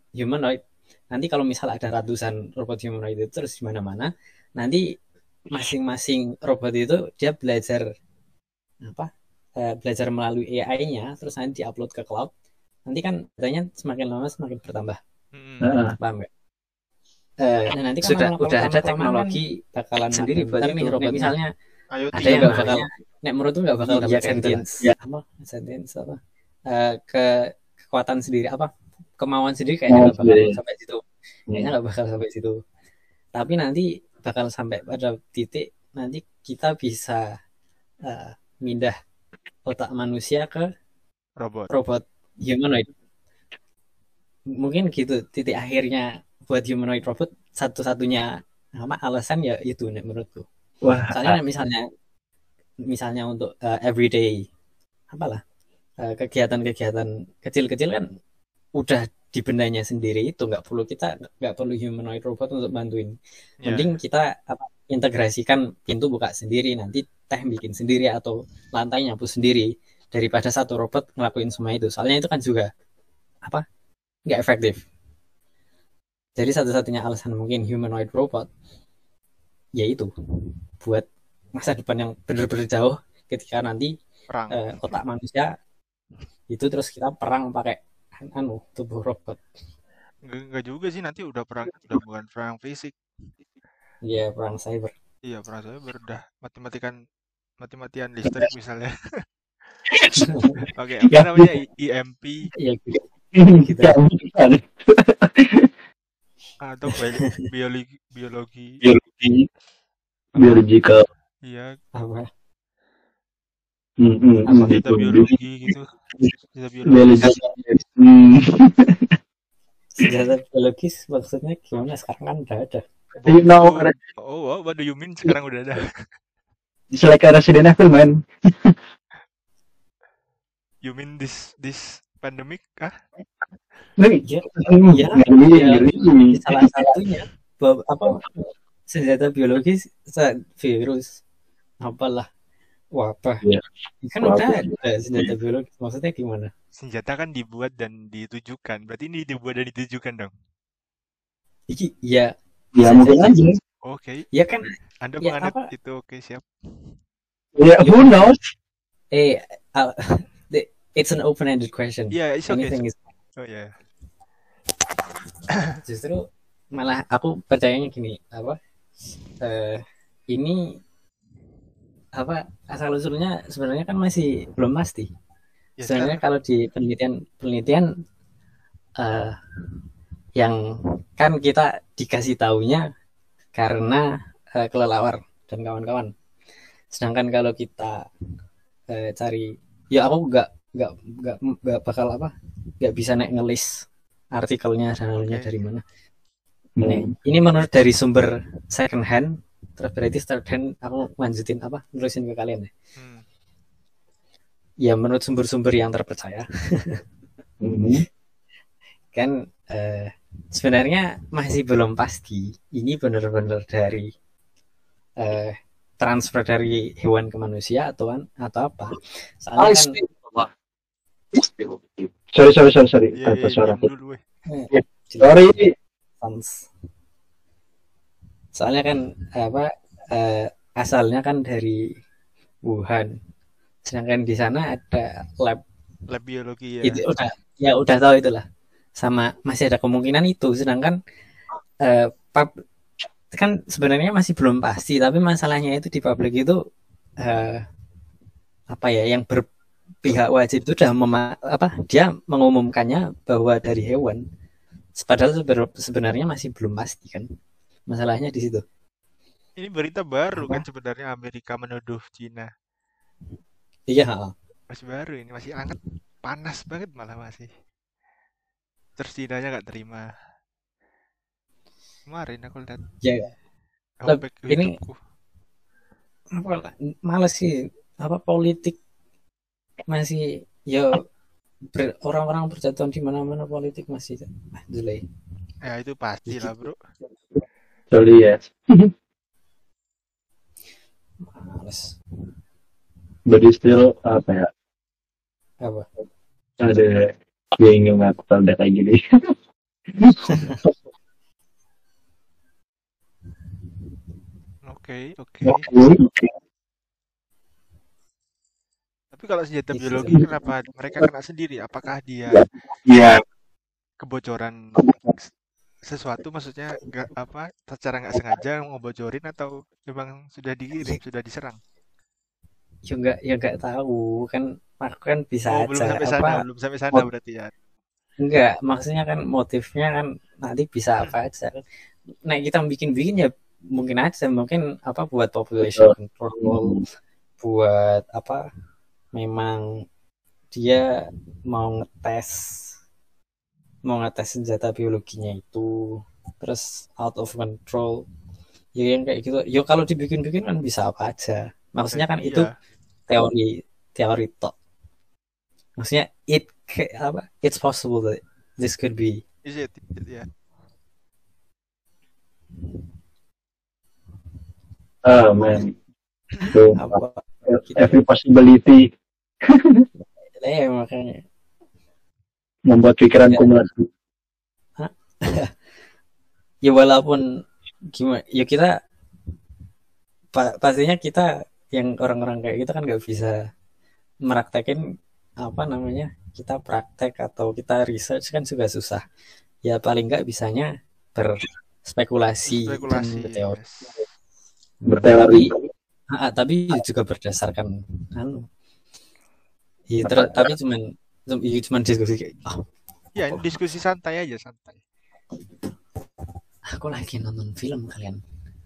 humanoid. Nanti kalau misal ada ratusan robot humanoid itu terus di mana-mana, nanti masing-masing robot itu dia belajar apa? Belajar melalui AI-nya, terus nanti diupload ke cloud. Nanti kan datanya semakin lama semakin bertambah. Heeh. Paham nggak? Nah nanti kan Sudah udah lama ada kelamaan kan teknologi bakalan sendiri makin buat pintar nih itu. Nek robotnya. misalnya IoT Ada yang nggak bakal, nek menurut tuh nggak bakal iya dapat kayak gitu lah. sentience, Ya. apa sentience apa, ke kekuatan sendiri apa kemauan sendiri kayaknya nggak bakal sampai situ, kayaknya nggak bakal sampai situ. Tapi nanti bakal sampai pada titik nanti kita bisa mindah otak manusia ke robot humanoid. Mungkin gitu titik akhirnya buat humanoid robot. Satu-satunya apa alasan ya itu nek menurutku. Wah, Soalnya misalnya untuk everyday apalah kegiatan-kegiatan kecil-kecil kan udah di bendanya sendiri, itu nggak perlu humanoid robot untuk bantuin. Mending kita integrasikan pintu buka sendiri, nanti teh bikin sendiri atau lantai nyapu sendiri, daripada satu robot ngelakuin semua itu. Soalnya itu kan juga apa nggak efektif. Jadi satu-satunya alasan mungkin humanoid robot yaitu buat masa depan yang benar-benar jauh, ketika nanti otak manusia itu terus kita perang pakai tubuh robot. Enggak juga sih, nanti udah bukan perang fisik. Iya, perang cyber. Iya, perang cyber udah mati-matian listrik misalnya. Oke, apa namanya EMP Iya gitu. Atau biologi biological. Iya. Apa? Senjata biologi gitu. Senjata biologis. Senjata biologis maksudnya gimana? Sekarang kan udah ada. Oh, what do you mean sekarang udah ada? It's like a Resident Evil, man. You mean this pandemic kah? Ya, salah satunya apa senjata biologis, virus apalah wabah. Kan udah ada senjata biologis, maksudnya gimana? Senjata kan dibuat dan ditujukan, berarti ini dibuat dan ditujukan dong. Ya mungkin aja. Oke. Ya kan. Anda menganut itu, oke, siap. Ya, who knows? It's an open-ended question. Yeah, it's okay. Oh yeah. Justru malah aku percayanya gini, apa? Ini apa asal usulnya sebenarnya kan masih belum pasti. Ya, sebenarnya kalau di penelitian yang kan kita dikasih taunya karena kelelawar dan kawan-kawan. Sedangkan kalau kita cari, ya aku nggak bakal nggak bisa ngelis artikelnya asalnya dari mana. Ini menurut dari sumber second hand, terus berarti third hand aku lanjutin nulisin ke kalian ya. Ya menurut sumber-sumber yang terpercaya. Kan sebenarnya masih belum pasti ini benar-benar dari transfer dari hewan ke manusia atau apa. Soalnya kan sorry. Sorry. Soalnya kan asalnya kan dari Wuhan. Sedangkan di sana ada lab biologi ya. Itu udah tahu itulah. Sama masih ada kemungkinan itu. Sedangkan kan sebenarnya masih belum pasti, tapi masalahnya itu di publik itu yang berpihak wajib itu udah dia mengumumkannya bahwa dari hewan. Padahal sebenarnya masih belum pasti kan. Masalahnya di situ. Ini berita baru kan sebenarnya, Amerika menuduh Cina. Iya. Masih baru ini, masih hangat, panas banget malah masih. Terus Cina-nya nggak terima. Kemarin aku lihat. Ya. Ini males sih politik masih orang-orang berjatuhan di mana-mana, politik masih jelek. Ya itu pasti lah bro. Sorry ya. Males. But still apa? Ada yang ingin ngaku kayak gini. Oke. Oke. Tapi kalau senjata Itu biologi kenapa mereka kena sendiri? Apakah dia Iya. kebocoran sesuatu, maksudnya secara nggak sengaja mau ngebocorin, atau memang sudah dikirim, sudah diserang? ya nggak tahu kan, aku kan bisa Belum aja sampai sana, apa belum sampai sana berarti ya. enggak, maksudnya kan motifnya kan nanti bisa apa aja. Nah, kita bikin ya mungkin aja, mungkin apa buat population control, buat apa, memang dia mau ngetes senjata biologinya itu, terus out of control. Ya yang kayak gitu. Ya kalau dibikin-bikin kan bisa apa aja. Maksudnya kan itu Iya, teori tok. Maksudnya it's possible that this could be is it? Ya. Man. So, apa every possibility makanya membuat pikiranku melesu. ya walaupun gimana ya kita pastinya kita yang orang-orang kayak kita kan nggak bisa meraktekin apa namanya, kita praktek atau kita research kan juga susah ya, paling nggak bisanya berspekulasi dan Spekulasi. berteori. Yes. Berteori. Tapi juga berdasarkan ya, tapi cuman diskusi kayak, Ya, ini diskusi santai aja, santai. aku lagi nonton film kalian.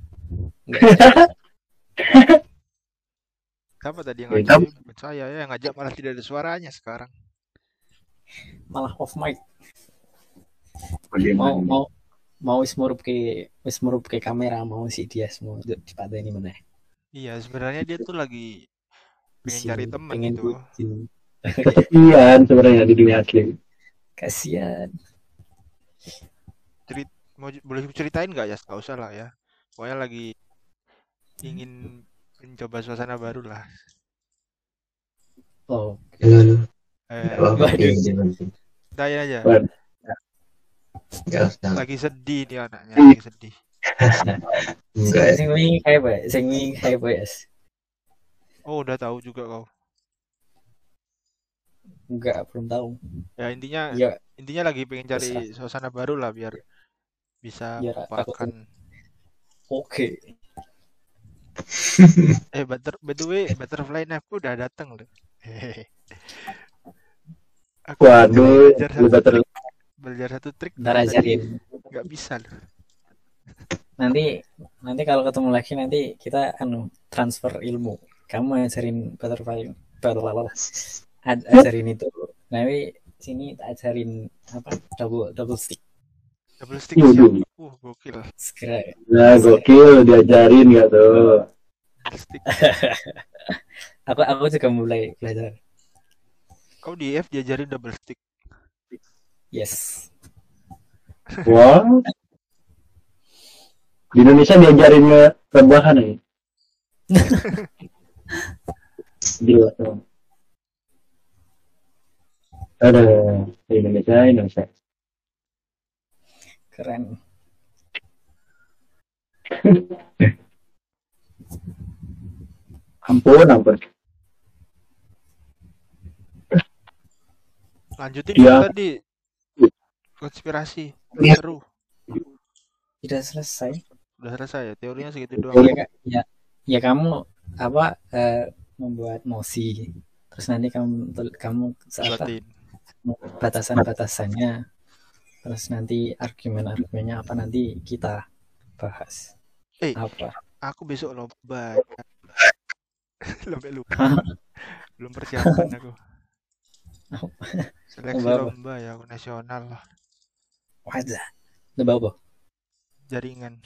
Siapa tadi yang ngajak? Bukan saya ya, yang ngajak malah tidak ada suaranya sekarang. Malah off mic. Bagaimana? Mau wis murup ke kamera, mau si dia semua dipateni mana. Iya, sebenarnya dia tuh lagi pengen cari teman pengen gitu. Kasian sebenarnya di dunia asli. Kasian. Boleh ceritain nggak ya? Nggak usah lah ya. Pokoknya lagi ingin mencoba suasana baru lah. Oh. Tanya aja. Lagi sedih dia anaknya, lagi sedih. Sing wingi kayak boys. Oh, udah tahu juga kau. Enggak, belum tahu. Ya intinya lagi pengen cari suasana baru lah biar bisa melupakan. Oke. By the way, Butterfly Knife udah datang loh. Aku Waduh, belajar satu trik. Ntar ajarin. Nggak bisa loh. Nanti kalau ketemu lagi nanti kita transfer ilmu. Kamu ajarin butterfly, ajarin itu. Nanti sini tak ajarin apa double stick. Double stick siap. Gokil. Segera. Nah, gokil diajarin nggak tuh? Stick. aku juga mulai belajar. Kau di F diajarin double stick. Yes. Wow. Di Indonesia diajarin rebahan ya. Gila tuh. Ada di Indonesia. Keren. Ampun. Lanjutin ya. Tadi konspirasi seru. Udah selesai ya, teorinya segitu doang. Ya kamu apa membuat mosi, terus nanti kamu batasannya, terus nanti argumennya apa, nanti kita bahas. Apa? Aku besok lomba. Lupa. Belum persiapan aku. Seleksi lomba ya, aku nasional lah. Wajah. Lomba apa? Jaringan.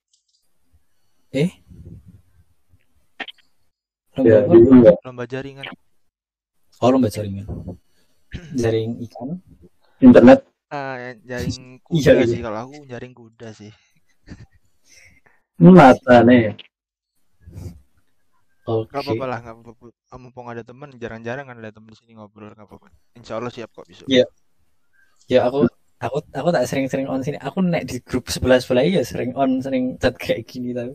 Lomba jaringan. Oh, lomba jaringan. Jaring ikan. Internet. Jaring kuda sih, kalau aku jaring kuda sih. Mata nih. Oke. Gak apa-apa lah, gak apa-apa. Mumpung ada teman, jarang-jarang kan ada teman di sini ngobrol, gak apa-apa. Insya Allah siap kok besok. Iya. Ya aku Aku tak sering-sering on sini. Aku nek di grup sebelah ya sering on, sering chat kayak gini tapi.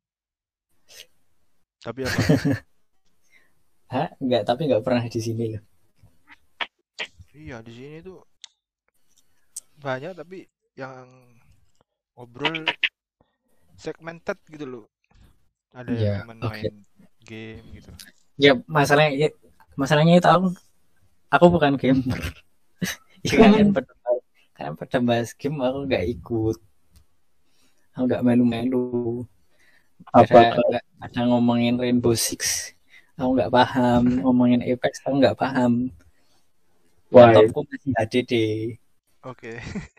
Tapi apa? Hah? Enggak, tapi enggak pernah di sini loh. Iya, di sini tuh banyak tapi yang ngobrol segmented gitu loh. Ada yang Ya, cuman oke. main game gitu. Ya masalahnya itu aku bukan gamer. Ya kalian pada bahas game aku nggak ikut. Aku nggak melu-melu. Apakah Nggak ada ngomongin Rainbow Six. Aku nggak paham. Ngomongin Apex aku nggak paham. why? Laptopku masih HDD. Oke.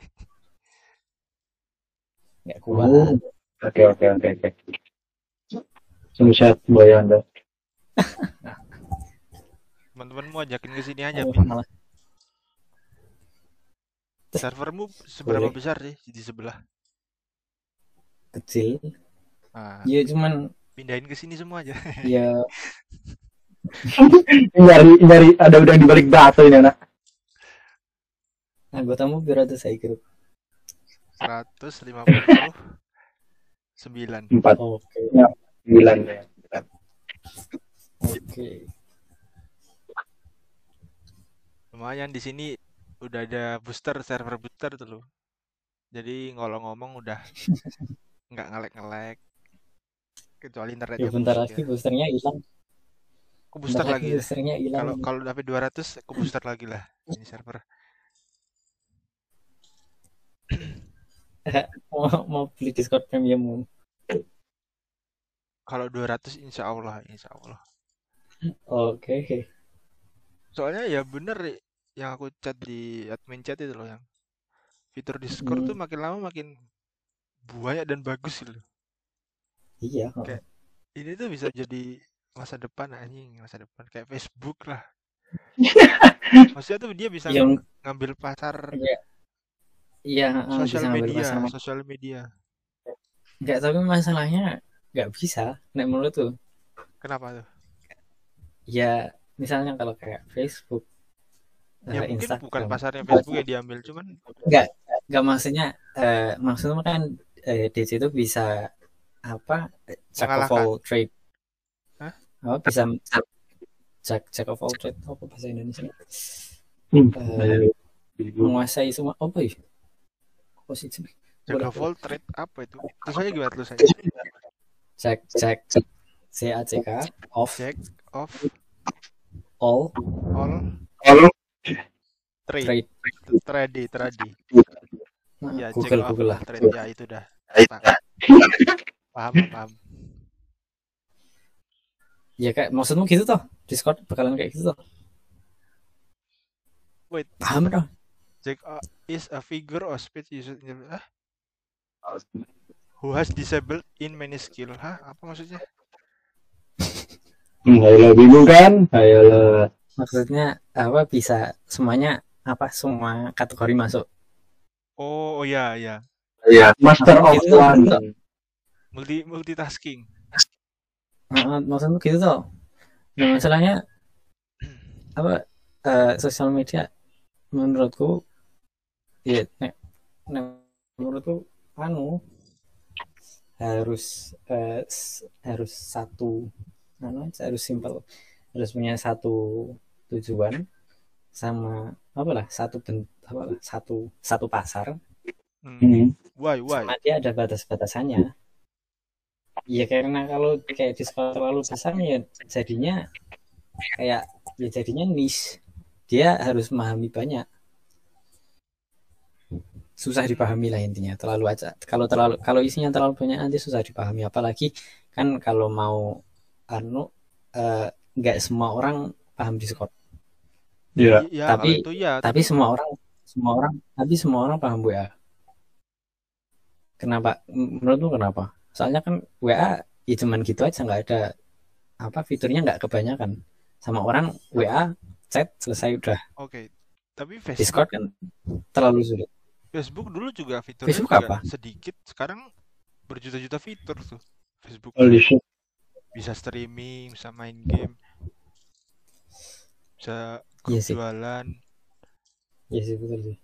Nggak kuat. Oh, oke. Sehat boy Anda. Teman-temanmu ajakin ke sini aja, Oh, Pin. malah Servermu seberapa boleh besar sih di sebelah? kecil. Nah, Ya cuman pindahin ke sini semua aja. ya Nyari ada udang di balik batu ini anak. anggotamu berapa saya kira. 159. 4. Oke. Ya, 9 ya. Oke. Lumayan di sini udah ada server booster tuh loh. Jadi kalau ngomong udah nggak ngelek-ngelek. Kecuali Ya internetnya bentar busuk lagi ya. boosternya hilang. Aku Bentar booster lagi lagi ya. boosternya hilang. Kalau dapat 200 aku booster lagi lah ini server. mau beli Discord premium. Kalau 200 insya Allah. Oke. Soalnya ya bener yang aku chat di admin chat itu loh, yang fitur Discord tuh makin lama makin banyak dan bagus gitu loh. Iya. Kayak ini tuh bisa jadi masa depan kayak Facebook lah. Maksudnya tuh dia bisa Yang ngambil pasar iya bisa ngambil pasar. sosial media. Enggak, tapi masalahnya nggak bisa. Nek menurut tuh. Kenapa tuh? Ya misalnya kalau kayak Facebook, Ya mungkin bukan Instagram. pasarnya Facebook yang diambil, cuman Enggak maksudnya kan di situ bisa apa jack of mengalahkan. all trade. Hah? Oh, bisa jack of all trade apa bahasa Indonesia? Menguasai semua apa ya? Apa sih? Jack of all trade apa itu? Terus aja gimana tuh saya? Jack CACK of Jack of all trade. Trade. Nah, Ya, Google lah. trade ya itu dah. Paham. Ya kayak maksudmu gitu toh? Discord bakalan kayak gitu toh? Wait, paham toh? Jack is a figure of speech used who has disabled in many skill. Hah? Apa maksudnya? Ayolah bingung kan? Ayolah. Maksudnya apa bisa semuanya apa semua kategori masuk? Oh ya. Iya, master of Gitu, one. Multitasking. Maksudmu gitu toh? Nah, masalahnya apa sosial media menurutku ya menurutku harus satu harus simpel, harus punya satu tujuan sama satu pasar. Why? Sama dia ada batas-batasannya. Ya karena kalau kayak Discord terlalu besar ya jadinya niche. Dia harus memahami banyak. Susah dipahami lah intinya. Kalau isinya terlalu banyak nanti susah dipahami. Apalagi kan kalau mau nggak semua orang paham Discord. Iya. Tapi semua orang paham WA. Kenapa? Menurutmu kenapa? Soalnya kan WA ya cuman gitu aja, nggak ada fiturnya, nggak kebanyakan. Sama orang WA chat selesai udah. Oke. Tapi Facebook, Discord kan terlalu sulit. Facebook dulu juga fiturnya Facebook juga apa? sedikit, sekarang berjuta-juta fitur tuh Facebook. Bisa streaming, bisa main game, bisa jualan. Iya sih betul sih.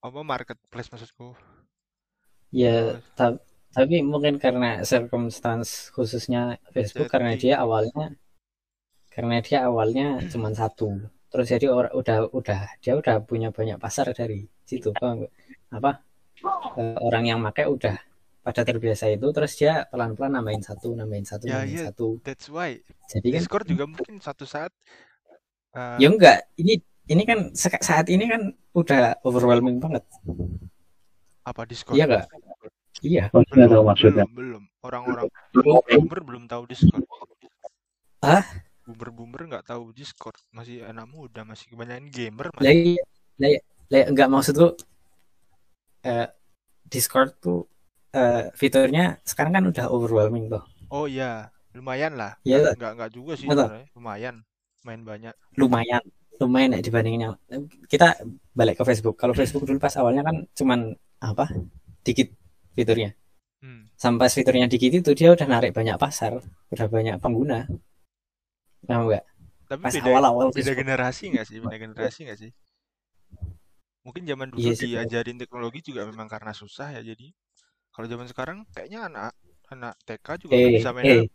Apa marketplace maksudku? Ya, Oh, tapi mungkin karena circumstance khususnya Facebook setting. karena dia awalnya cuma satu. Terus jadi dia udah punya banyak pasar dari situ, paham nggak? Apa orang yang pakai udah pada terbiasa itu, terus dia pelan-pelan nambahin satu, Ya, nambahin ya, satu. that's why. Jadi kan Discord juga mungkin suatu saat ya enggak, ini kan saat ini kan udah overwhelming banget. apa Discord? Iya enggak? Iya. Maksudnya tahu maksudnya. Belum. Orang-orang boomer belum tahu Discord. Ah, Boomer nggak tahu Discord. Masih anak muda, masih kebanyakan gamer lah masih. iya. Enggak, maksudku eh, Discord tuh fiturnya sekarang kan udah overwhelming tuh. Oh iya, lumayan lah. Iya, Nggak juga sih betul. sebenarnya. Lumayan, main banyak. Lumayan, lumayan ya dibandingin yang kita balik ke Facebook. Kalau Facebook dulu pas awalnya kan cuman apa? Dikit fiturnya. Hmm. Sampai fiturnya dikit itu dia udah narik banyak pasar, udah banyak pengguna. Paham nggak? Tapi Pas beda awal-awal beda Facebook. generasi nggak sih? Beda generasi nggak sih? Mungkin zaman dulu Iya sih. diajarin teknologi juga memang karena susah ya. Jadi kalau zaman sekarang kayaknya anak TK juga udah bisa main eh HP.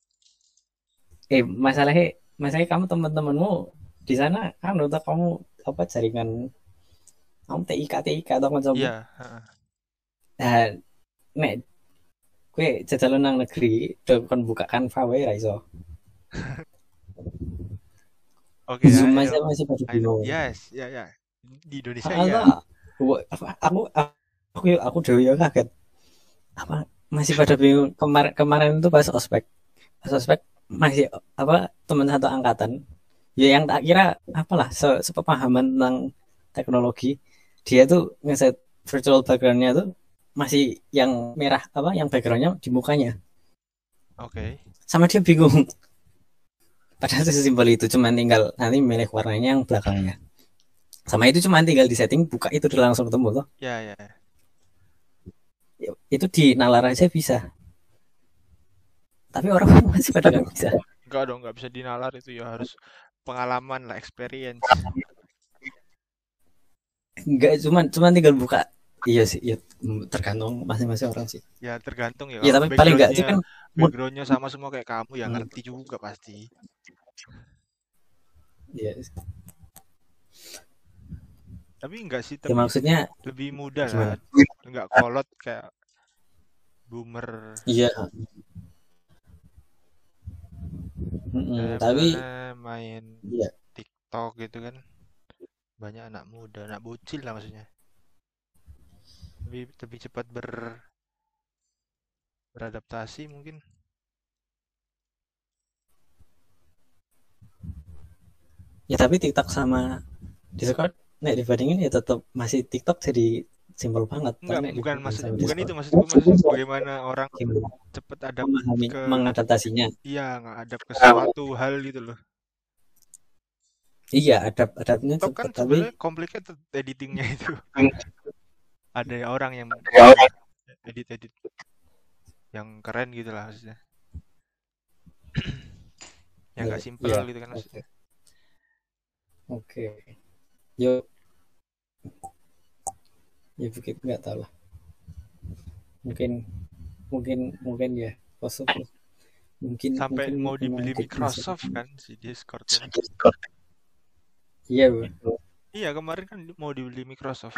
masalahnya kamu teman-temanmu di sana kan udah kamu apa jaringan kamu TIK atau macam. Iya. Nah, nek gue jajalan nang negeri kon buka Canva wae ra iso. Oke ya, Zoom I aja know. masih pada I know. bingung. Yes, ya ya. Di Indonesia ya. Atau aku dewe ya kaget. Apa masih pada bingung kemarin itu pas ospek masih apa teman satu angkatan ya yang tak kira apalah sepemahaman tentang teknologi dia tuh ngeset virtual backgroundnya tuh masih yang merah apa yang backgroundnya di mukanya Oke. sama dia bingung padahal sesimpel itu cuma tinggal nanti milih warnanya yang belakangnya sama itu cuma tinggal di setting buka itu udah langsung ketemu tuh Ya ya. itu di nalar aja bisa tapi orang masih pada nggak bisa. Enggak dong, nggak bisa dinalar itu ya harus pengalaman lah, experience. Enggak, cuman tinggal buka. Iya sih, ya tergantung masing-masing orang sih. Ya tergantung ya. Ya Kalau tapi paling enggak sih kan backgroundnya sama semua kayak kamu ya ngerti juga pasti. Iya. Tapi enggak sih, Ya tapi maksudnya lebih mudah gimana? lah. Enggak kolot kayak boomer. Iya. Tapi main iya. TikTok gitu kan. Banyak anak muda, anak bocil lah maksudnya. Lebih cepat beradaptasi mungkin. Ya tapi TikTok sama Discord nek dibandingin ya tetap masih TikTok jadi simpel banget. Enggak, bukan itu maksudku bagaimana orang simpel. cepet adapt ke mengadaptasinya. Iya, nggak adapt ke suatu hal gitu loh. Iya, adaptnya TikTok kan cepet tapi sebenarnya complicated editingnya itu. Ada orang yang edit yang keren gitu lah maksudnya. Yang nggak simple iya, gitu kan maksudnya. Oke. Yuk. Ya begitu nggak tahu lah. Mungkin ya kosong. Mungkin sampai mungkin mau dibeli memang Microsoft kan si Discord kan. Iya, betul. Iya, kemarin kan mau dibeli Microsoft.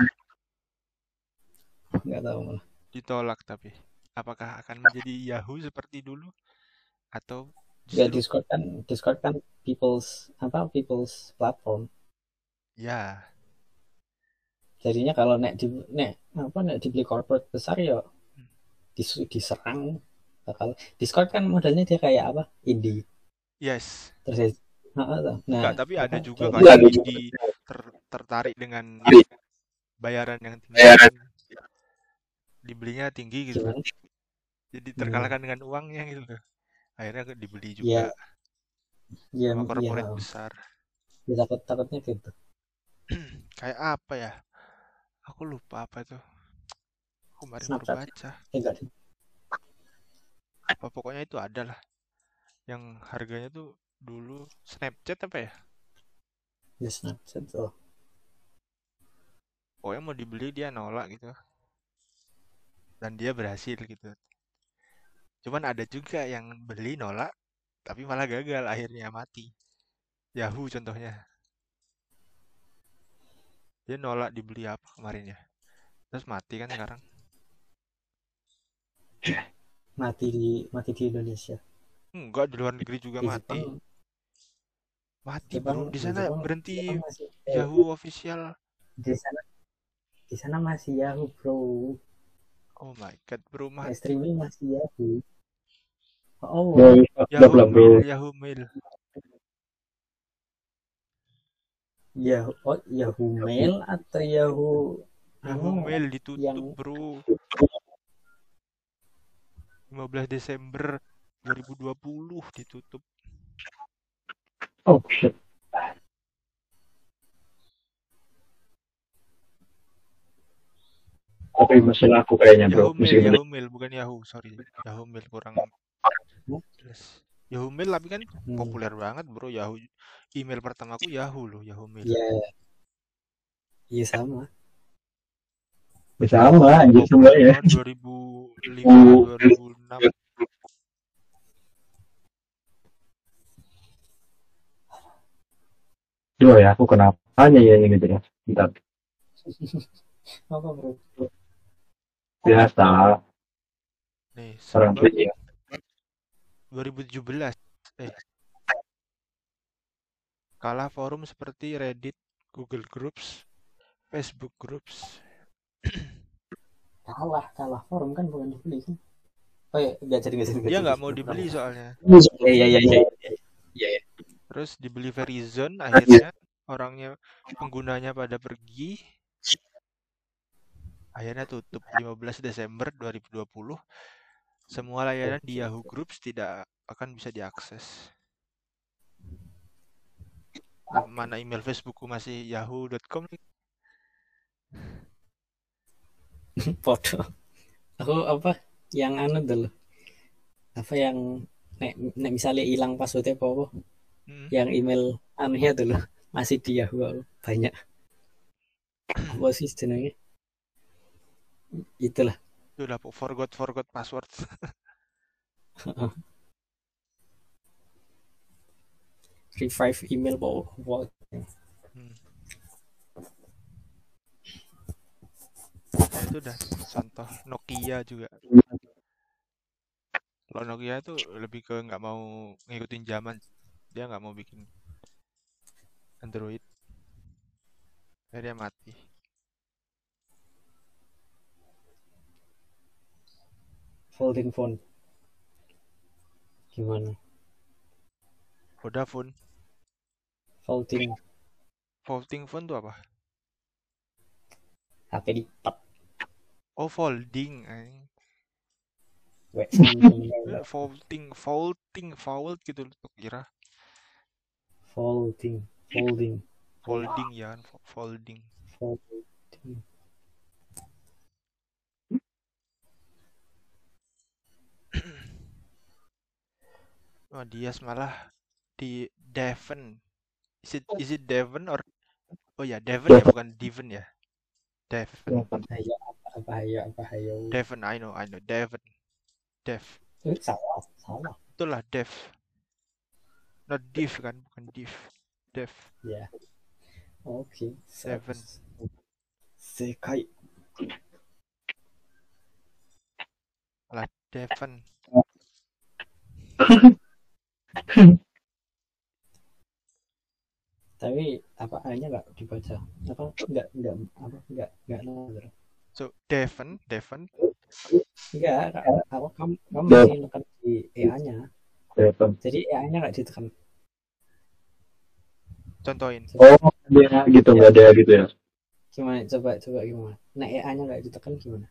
Nggak tahu malah. Ditolak tapi. Apakah akan menjadi Yahoo seperti dulu atau Ya justru Discord kan people's platform. ya, Jadinya kalau nek dibeli corporate besar ya diserang bakal. Discord kan modelnya dia kayak apa? Indie. yes. Terus Enggak, tapi ada juga kan dari- yang tertarik dengan bayaran yang tinggi. Dibelinya tinggi gitu. Gimana? Jadi terkalahkan dengan uangnya gitu loh. Akhirnya dibeli juga Iya. Iya, sama korporat iya. besar. Ya, takutnya gitu. Kayak apa ya? Aku lupa apa itu. Aku kemarin baru Snapchat. baca. Enggak. Apa pokoknya itu ada lah. Yang harganya tuh dulu Snapchat apa ya? Ya Snapchat tuh. pokoknya mau dibeli dia nolak gitu, dan dia berhasil gitu. Cuman ada juga yang beli nolak tapi malah gagal, akhirnya mati. Yahoo contohnya, dia nolak dibeli apa kemarin ya, terus mati kan sekarang. mati di Indonesia. Enggak, di luar negeri juga Di mati. Jepang Mati Jepang bro, di di sana Jepang berhenti Jepang masih Yahoo official. di sana masih Yahoo bro. Oh my god bro, mati. Streaming masih Yahoo. Oh Bro, Yahoo goblok bro. Mail, Yahoo Mail. Yahoo Mail atau Yahoo Yahoo Mail ditutup yang bro, 15 Desember 2020 ditutup. Oh shit. Tapi mesin aku kayaknya bro. Yahoo Mail, Mesin Yahoo Mail bukan Yahoo, sorry. Yahoo Mail kurang jelas. Yahoo Mail tapi kan populer banget bro. Yahoo, email pertamaku Yahoo loh, Yahoo Mail. Iya sama. Sama anjir semua ya. 2005, 2006. Duh ya, aku kenapa ya ini gitu ya. Bentar. Apa bro? Biasa. Nih, Orang ya. 2017. Kalah forum seperti Reddit, Google Groups, Facebook Groups. Kalah forum kan bukan dibeli kan? Oh ya, nggak jadi. Dia nggak mau dibeli soalnya. Iya. Terus dibeli Verizon, akhirnya orangnya, penggunanya pada pergi. Akhirnya tutup 15 Desember 2020. Semua layanan di Yahoo Groups tidak akan bisa diakses. Mana email Facebookku masih yahoo.com. Foto. Aku apa yang dulu. Apa yang nek misalnya hilang passwordnya apa? Yang email anehnya dulu masih di Yahoo banyak. Apa sih jenenge? Itulah. Sudah forgot password. Revive email bawa. Nah, itu udah contoh. Nokia juga. Kalau Nokia itu lebih ke nggak mau ngikutin zaman, dia nggak mau bikin Android, akhirnya mati. Folding phone gimana? Vodafone. Folding phone tuh apa? HP lipat. Oh, folding. Fold gitu tuh kira. Folding Ya, folding. Oh, dia malah di Devon. Is it Devon or Devon ya, bukan Devon ya. Devon. Devon, I know. Devon. Salah. Itulah Dev. Not div kan, bukan div. Dev. Ya. Oke. Devon. Sekai. Lah, Devon. Tapi apa A-nya nggak dibaca? Apa nggak nol. So Devon. Enggak, kamu masih nekan di EA-nya. Jadi EA-nya nggak ditekan. Contohin. Oh, dia gitu nggak ada gitu ya? Gimana? Coba gimana? Nah, EA-nya nggak ditekan gimana?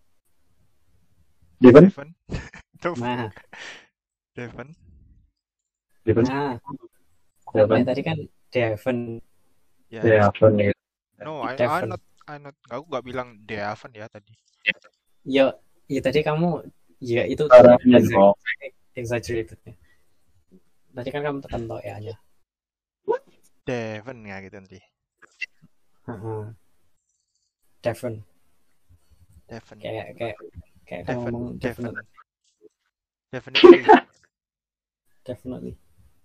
Devon? Nah. Devon. Nah. Tadi kan Devon. Ya. Devon ya. No, I'm not. Aku nggak bilang Devon ya tadi. Ya tadi kamu ya itu exaggerated. Tadi kan kamu tekan to EA-nya. Devon ya gitu nanti. Devon. Devon. Kayak kalau Devon. ngomong Devon. definitely. Definitely.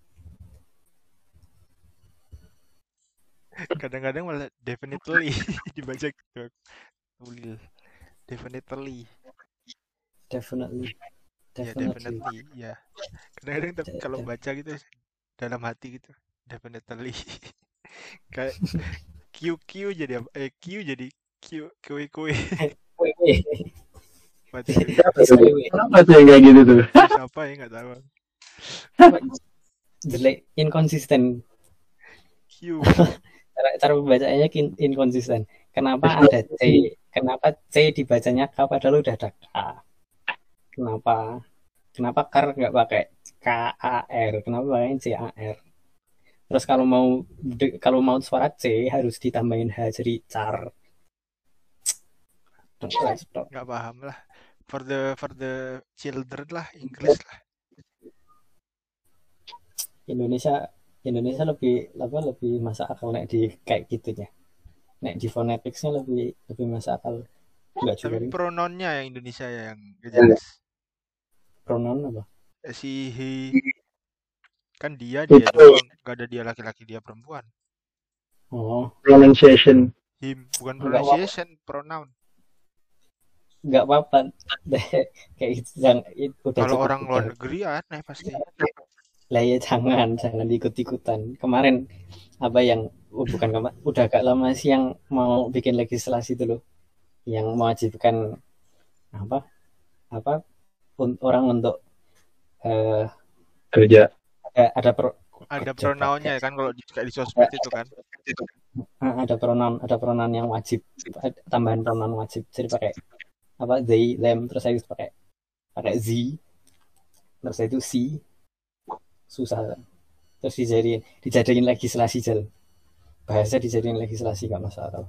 Kadang-kadang malah definitely dibaca gitu. Ulil. Definitely. Definitely. Ya, Definitely. definitely. Ya. Kadang-kadang kalau baca gitu dalam hati gitu. Definitely. Kayak QQ jadi apa? Q jadi kue. Wih. Apa tuh? Kenapa tuh yang kayak gitu tuh? Siapa ya nggak tahu. Jelek, inkonsisten. Q. Cara pembacanya inkonsisten. Kenapa ada C? Kenapa C dibacanya K padahal udah ada K? Kenapa kar nggak pakai KAR? Kenapa pakai CAR? Terus kalau mau suara C harus ditambahin H jadi car. Nggak paham lah. For the children lah, English lah. Indonesia lebih masuk akal nek di kayak gitunya. Nek di phoneticsnya lebih masuk akal. Enggak juga. Tapi pronounnya yang Indonesia yang gak jelas. Pronoun apa? Si he kan dia doang, gak ada dia laki-laki dia perempuan. Oh. Pronunciation. Him bukan pronunciation, pronoun. Nggak apa-apa. Kayak gitu, kalau orang luar negeri aneh pasti. Lah ya jangan ikut-ikutan. Kemarin udah agak lama sih yang mau bikin legislasi itu loh, yang mewajibkan orang untuk kerja. Ada pronounnya kan kalau di sosmed itu kan. Ada pronoun yang wajib, tambahan pronoun wajib. Jadi pakai they, them, terus saya pakai z, terus itu si. Susah. Terus dijadiin legislasi bahasa dijadiin legislasi nggak masalah.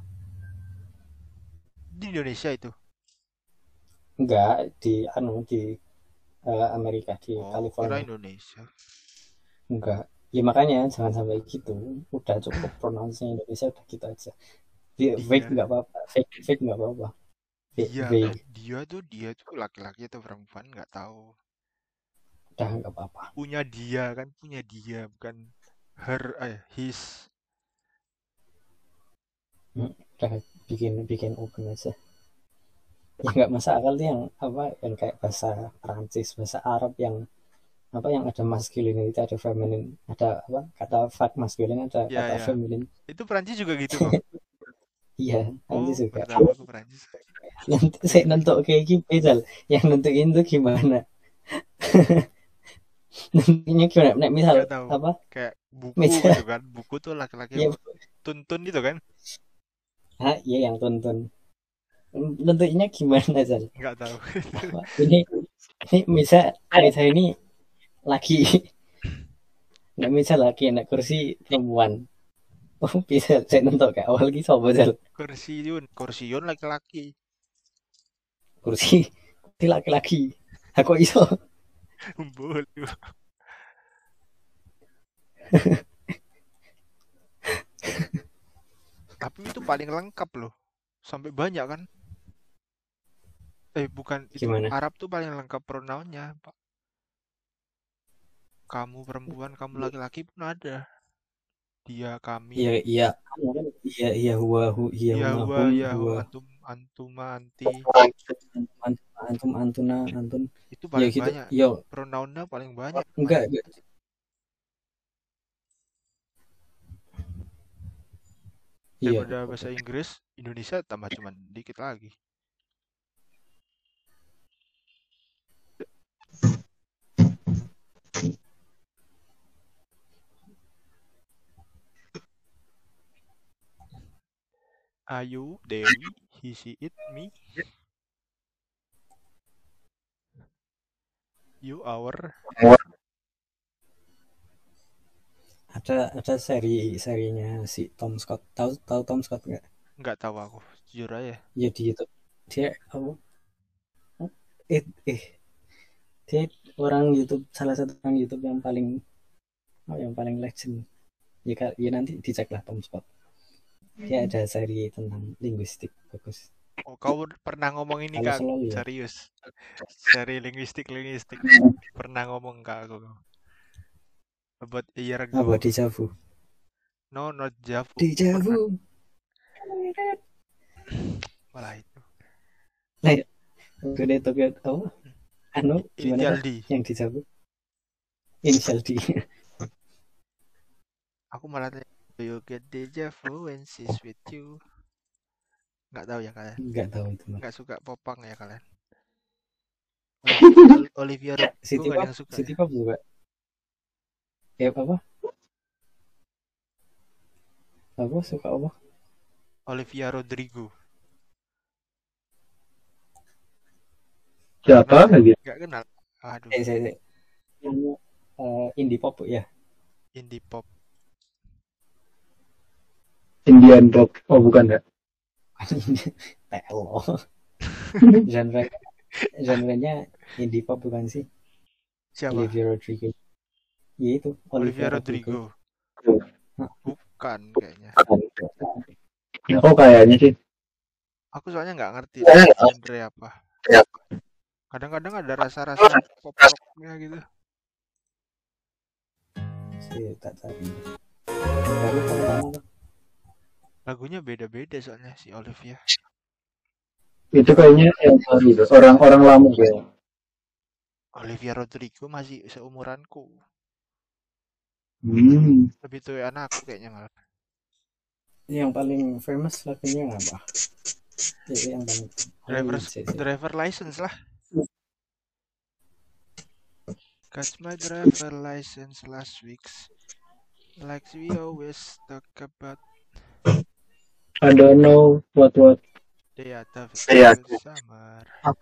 Di Indonesia itu? Enggak, di Amerika, di California. Kira Indonesia. Enggak. Ya makanya jangan sampai gitu. Udah cukup pronounce-nya Indonesia udah gitu aja. Fake nggak apa-apa. Fake nggak apa-apa. Dia tuh laki-laki atau perempuan nggak tahu. Udah nggak apa-apa. Punya dia bukan her, his. Udah bikin open aja. Ya nggak masalah yang kayak bahasa Prancis, bahasa Arab yang ada masculine, itu ada feminine, ada kata fat masculine, ada kata feminine. Itu Prancis juga gitu kok. Iya, Prancis juga. Pertama aku Prancis. Nanti saya nentuk kayak gitu, yang nentuin tuh gimana? Nentuinnya gimana? Nek misal kayak buku gitu kan, buku tuh laki-laki tuntun gitu kan? Iya yang tuntun. Nentuinnya gimana, Zal? Nggak tahu. ini misal ini laki, nggak misal laki enak kursi perempuan. Oh bisa saya nentuk kayak awal gitu apa, Zal? Kursiun laki-laki. Kursi laki-laki. Aku iso. Boleh. Tapi itu paling lengkap loh. Sampai banyak kan? Bukan itu. Gimana? Arab tuh paling lengkap pronounnya, Pak. Kamu perempuan, kamu laki-laki pun ada. Dia, kami. Iya, huwa, antuma, anti. Antum, antuna, antun. Itu paling gitu. banyak. Pronounnya paling banyak. Enggak. Daripada bahasa Inggris, Indonesia tambah cuman dikit lagi. Ayu, Dewi, he, she, it, me. You, our. Ada serinya si Tom Scott. Tahu Tom Scott nggak? Nggak tahu aku, jujur aja. Ya di YouTube. Dia dia orang YouTube, salah satu orang YouTube yang paling legend. Ya nanti dicek lah Tom Scott. Dia ada seri tentang linguistik bagus. Oh, kau pernah ngomong ini Kalau ke aku? selalu ya. Serius. Seri linguistik pernah ngomong ke aku about a year Apa ago. Deja Vu? No, not Javu. Deja Pernah. Vu. Malah itu. Nah, udah Tokyo apa? Anu gimana Initial tuh? D. Yang Deja Vu? Initial D. Aku malah tanya, do you get deja vu when she's with you? Nggak tahu ya kalian. Enggak tahu itu mah. Nggak suka popang ya kalian. Olivia Rodrigo City nggak ada Pop, yang suka City ya. Pop juga. Ya apa? Apa suka apa? Olivia Rodrigo. Siapa lagi? Nggak kenal. Aduh, Saya yang indie pop ya. indie pop. Indian pop. Oh bukan ya? Telo. Genrenya indie pop bukan sih? Siapa? Olivia Rodrigo. Ya itu Olivia Rodrigo. Hah. Bukan kayaknya. Ya, oh kayaknya sih. Aku soalnya nggak ngerti genre apa. Kadang-kadang ada rasa-rasa pop rocknya gitu. Sih tak tahu. Baru pertama tuh. Lagunya beda-beda soalnya si Olivia. Itu kayaknya yang baru tuh. Orang-orang lama ya. Olivia Rodrigo masih seumuranku. Hmm. Lebih tua anak aku kayaknya malah. Yang paling famous lagunya apa? Yang paling Driver license lah. Got my driver license last week. Like we always talk about. I don't know what. Day of summer.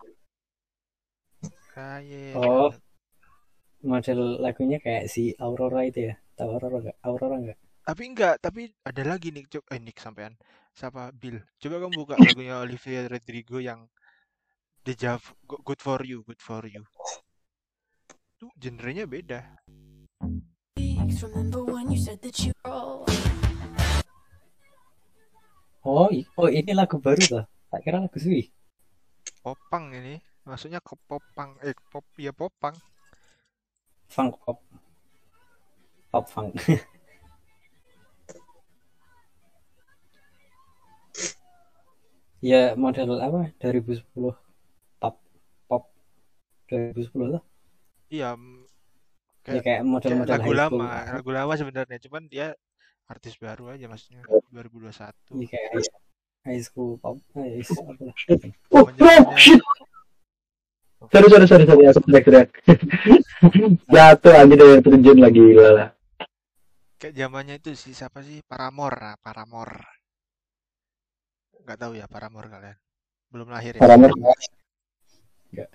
Kayak. Oh, model lagunya kayak si Aurora itu ya. Tahu Aurora nggak? Tapi ada lagi nih, Nick sampean. Siapa Bill? Coba kamu buka lagunya Olivia Rodrigo yang Deja Vu, Good for You. Tuh genrenya beda. Oh ini lagu baru tuh. Tak kira lagu sih. Popang ini. Maksudnya ke popang, popang. Funk pop. Pop funk. Ya model apa? 2010 pop 2010 lah. Iya, Kayak model-model lagu lama sebenarnya, cuman dia artis baru aja maksudnya 2021. Iya kayak high school pop. Oh shit. Sorry, aku teriak. Jatuh aja dari terjun lagi lah. Kayak zamannya itu siapa sih? Paramore. Nggak tahu ya Paramore kalian. Belum lahir ya? Paramore. Enggak.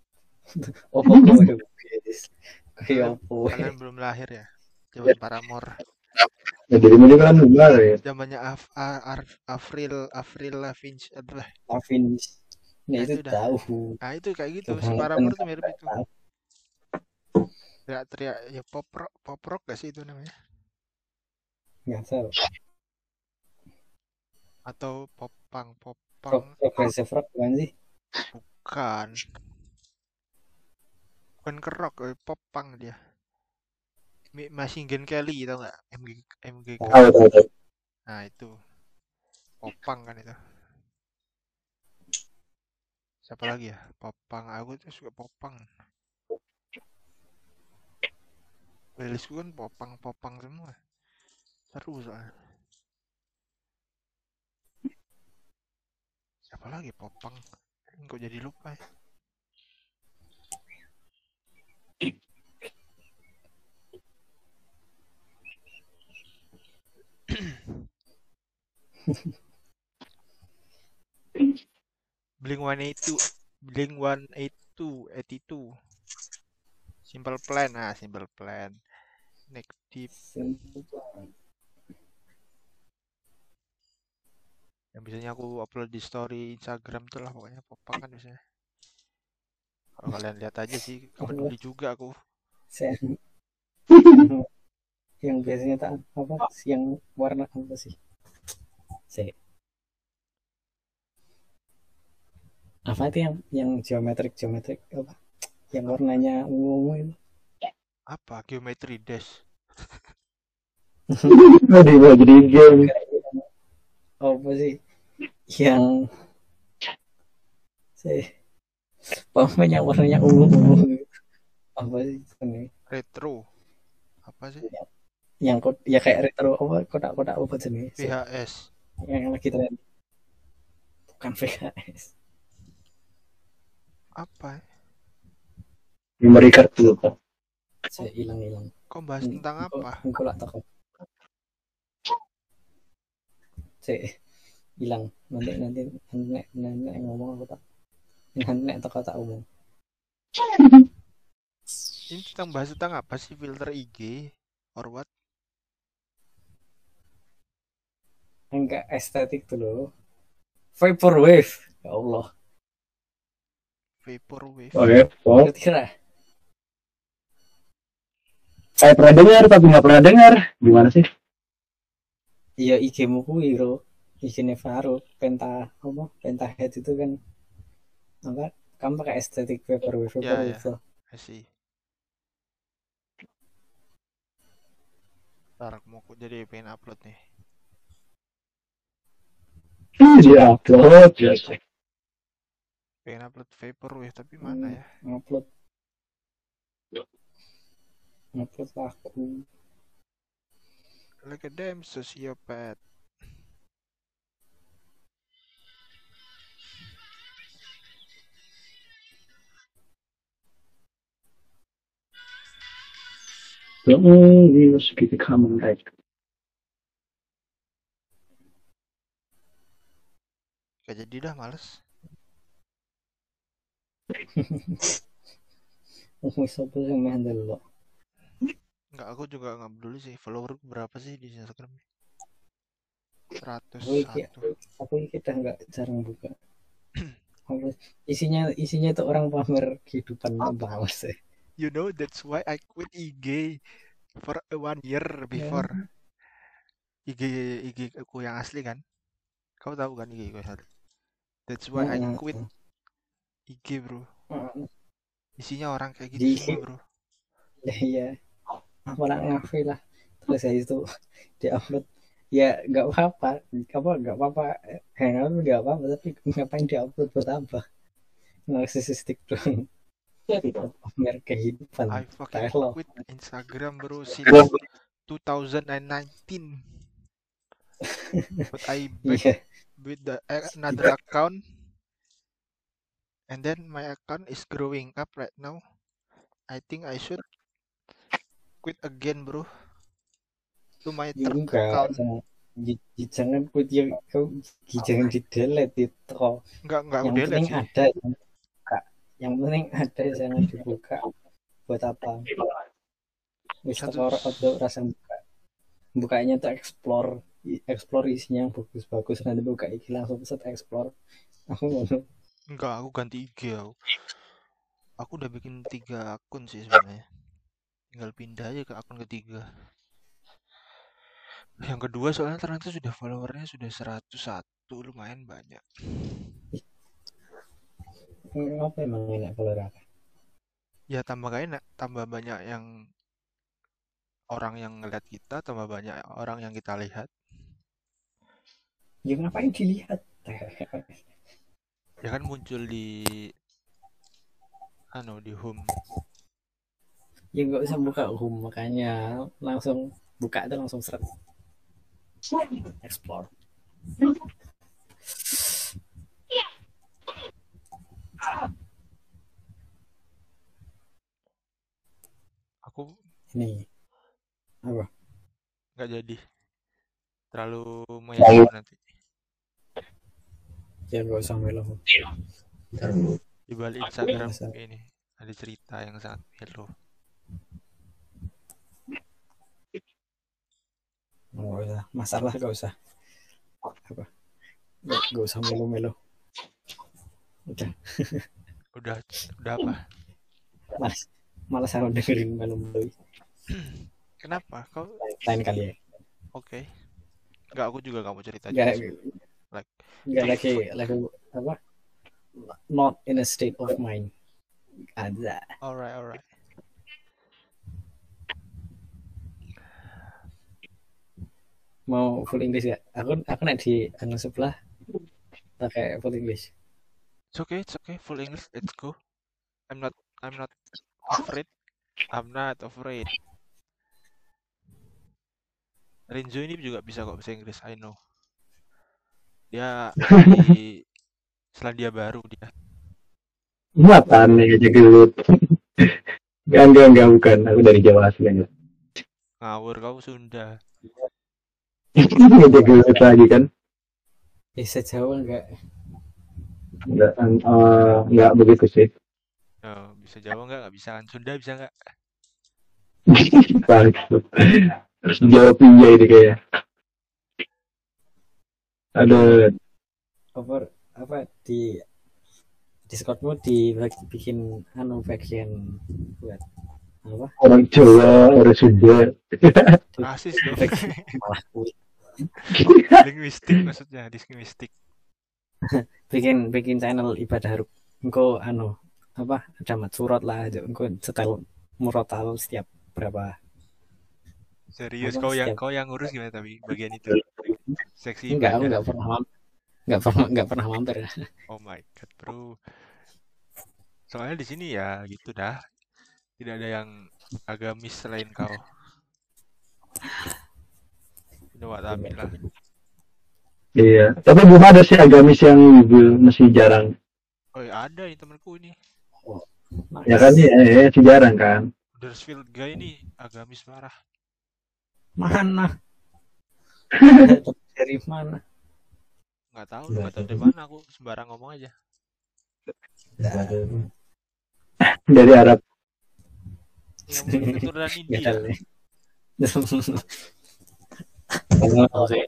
Kalian belum lahir ya? Zaman Paramore. Ya, jadi ini kan benar ya. Zamannya Avril Lavigne adalah. Lavigne. Nah itu tahu. Nah itu kayak gitu. Si Paramore tuh mirip itu. Teriak ya pop rock gak sih itu namanya? Nggak tahu. Atau popang. Progressive rock bukan sih? Bukan ke rock, popang dia. Machine Kelly tau nggak? MGK. Tahu. Nah itu popang kan itu. Siapa lagi ya? Popang. Aku tuh suka popang. Playlistku kan popang semua. Seru soalnya. Siapa lagi popang? Kok jadi lupa ya? Blink-182 Simple Plan. Next Deep. Yang biasanya aku upload di story Instagram tuh lah pokoknya popang kan biasanya. Kalau kalian lihat aja sih, peduli juga aku. Yang biasanya apa? Yang warna apa sih? Sih. Apa itu yang geometrik apa? Yang warnanya ungu itu. Apa? Geometry Dash. Mau jadi game. Apa sih? Yang sih pemain yang warnanya ungu apa sih ini? Retro. Apa sih? Yang ya kayak retro apa kotak-kotak apa jenis? VHS. Yang lagi tren. Bukan VHS. Apa? Memory card dulu kan. Saya hilang. Kok bahas tentang apa? Engkau lah toko. Saya hilang. Nanti ngomong aku tak. Nanti toko tak umum. Ini bahas tentang apa sih, filter IG or what? Enggak estetik tuh loh. Vaporwave. Ya Allah. Vaporwave. Oke. Kira Saya pernah dengar tapi nggak pernah dengar. Gimana sih? iya IG-mu kuwi bro. IG-ne Faro Pentahead itu kan apa? Kamu pakai estetik vaporwave Ya. tuh. I see. Ntar mau jadi pengen upload nih. Dia upload ya. Pengen upload Vaporwave tapi mana ya? Upload aku. Like a damn sociopath. Ini harus kita common right. Gak jadi dah, males. Siapa yang handle lo? Enggak, aku juga nggak peduli sih. Follower berapa sih di Instagram? 101. Aku kita nggak jarang buka. Isinya itu orang pamer kehidupan banget sih. You know, that's why I quit IG for 1 year before. IG aku yang asli kan? Kau tahu kan IG aku yang asli? That's why I quit IG, bro. Isinya orang kayak gitu semua, bro. Iya. Apa nak ngafe lah. Terus ya itu diupload. Ya nggak apa-apa. Nggak apa-apa. Hangout nggak apa-apa. Tapi ngapain diupload buat apa? Narsisistik dong. Pamer kehidupan. I fucking quit Instagram, bro, since 2019. But I back with another account, and then my account is growing up right now. I think I should quit again, bro. To my third account. Jangan quit ya, jangan di delete itu. Enggak yang delete penting sih. Ada yang penting ada, jangan dibuka. Buat apa? Atau rasa bukanya tuh explore isinya yang bagus-bagus, nanti buka IG langsung set explore. Enggak, aku ganti IG aku udah bikin 3 akun sih sebenarnya, tinggal pindah aja ke akun ketiga. Yang kedua soalnya ternyata sudah followernya sudah 101, lumayan banyak. Apa emang enak follower? Ya tambah gak enak, tambah banyak yang orang yang ngeliat kita, tambah banyak orang yang kita lihat. Ya ngapain dilihat? Ya kan muncul di home. Ya nggak usah buka home, makanya langsung buka itu langsung seret explore. Aku ini apa? Nggak jadi, terlalu melo nanti. Ya nggak usah melo. Di balik Instagram ini ada cerita yang sangat melo. Nggak usah, masalah nggak usah. Apa? Nggak usah melo-melo. Udah apa? Malas aku dengerin melo-melo. Kenapa? Kau lain kali ya. Oke. Enggak, aku juga nggak mau cerita juga Nggak sih. Like nggak itu lagi apa? Not in a state of mind. Ada. alright. Mau full English ya? Aku nek di anu sebelah pakai full English. It's okay. Full English, let's go. I'm not afraid. I'm not afraid. Renzo ini juga bisa kok bahasa Inggris, I know. Dia di Selandia Baru dia. Muatan nih aja gelut. Enggak, bukan. Aku dari Jawa asli. Ngawur kau Sunda. Aja gelut lagi kan. Bisa Jawa enggak? Enggak begitu sih. Oh, bisa Jawa nggak bisa kan? Sunda bisa nggak? Bagus. Terus jawab iya ini kayak. Ada Over apa di Discordmu bikin anu bagian buat apa? orang Jawa, orang Sunda. Rasis dong. Malah kuit. Linguistik maksudnya, linguistik. Bikin channel ibadah engko anu apa ada mat surat lah aja engko setel murotal setiap berapa Serius apa setiap kau yang ngurus gimana tapi bagian itu? Seksi enggak aku ibadah. nggak pernah mampir. Oh my god, bro. Soalnya di sini ya gitu dah. Tidak ada yang agamis selain kau. Coba tampil lah. Iya, tapi belum ada sih agamis yang masih jarang. Oh ya ada nih temanku ini. Oh, Ya kan nice. ya, masih jarang kan. Huddersfield guy ini agamis parah. Mana dari mana? Nggak tahu dari mana, aku sembarang ngomong aja. Dari Arab. Ya mungkin keturunan Nggak India. tahu deh. Oke.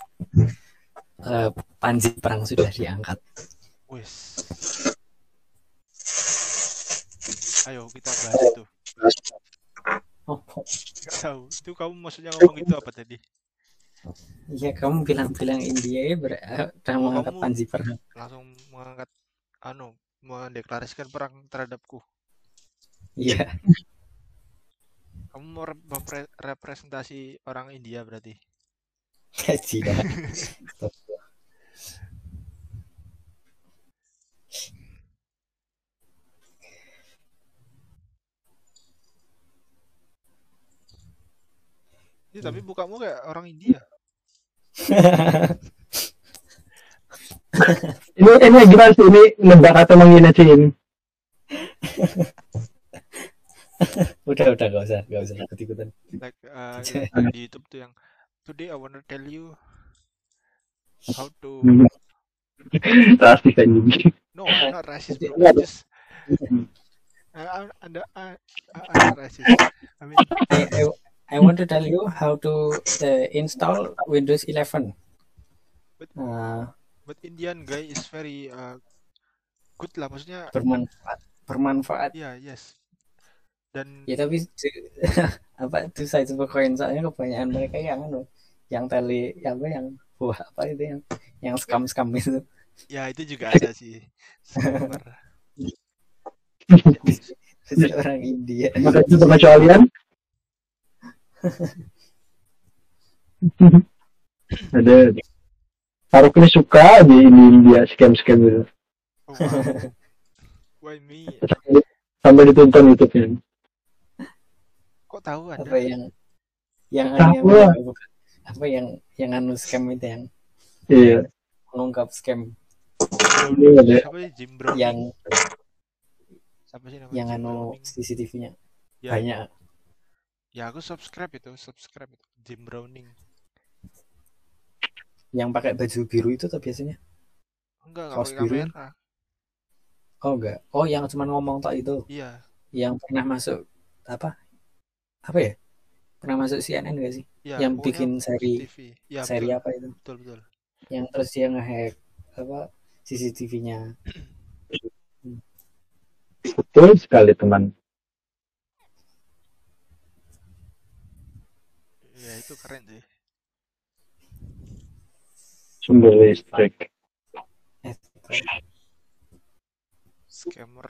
Panji perang sudah diangkat. Wes. Ayo kita bahas itu. Oh, Nggak tahu. Itu kamu maksudnya ngomong itu apa tadi? iya kamu bilang India ya udah mengangkat Kamu Panji perang. langsung mengangkat mendeklarasikan perang terhadapku. Iya. Kamu mau representasi orang India berarti. Gaji dah. Ya, tapi bukamu kayak orang India. Ini gimana sih ini nebak atau menghina sih ini? udah gak usah ikut-ikutan. Like di YouTube tuh yang today I wanna tell you how to. Rasis aja. No, I'm not racist, bro. I'm just I'm not racist. I mean, I want to tell you how to install Windows 11. but Indian guy is very good lah, maksudnya bermanfaat. ya, yes. Dan ya tapi apa itu saya coba koin soalnya kebanyakan mereka yang tele apa yang apa itu yang scam itu. Ya itu juga ada sih scammer. Orang India. Maka itu pengecualian. Ada Faruk ini suka di India scam gitu. Oh, wow. Why me? Sampai ditonton YouTube-nya. Kok tahu Anda? Apa yang apa yang anu scam itu yang Iya. mengungkap scam. Siapa sih Jim Browning? Yang siapa sih namanya? Yang anu CCTV-nya ya, banyak. Ya aku subscribe itu Jim Browning. Yang pakai baju biru itu tuh biasanya? Enggak pakai kamera. Oh enggak. Oh yang cuma ngomong tok itu. Iya. Yang pernah masuk apa ya? Pernah masuk CNN enggak sih? Ya, yang bikin seri ya, seri betul. apa itu? Betul. Yang terus dia nge-hack apa CCTV-nya. Betul sekali teman. Ya itu keren sih. Sumber listrik. Ethical. Scammer.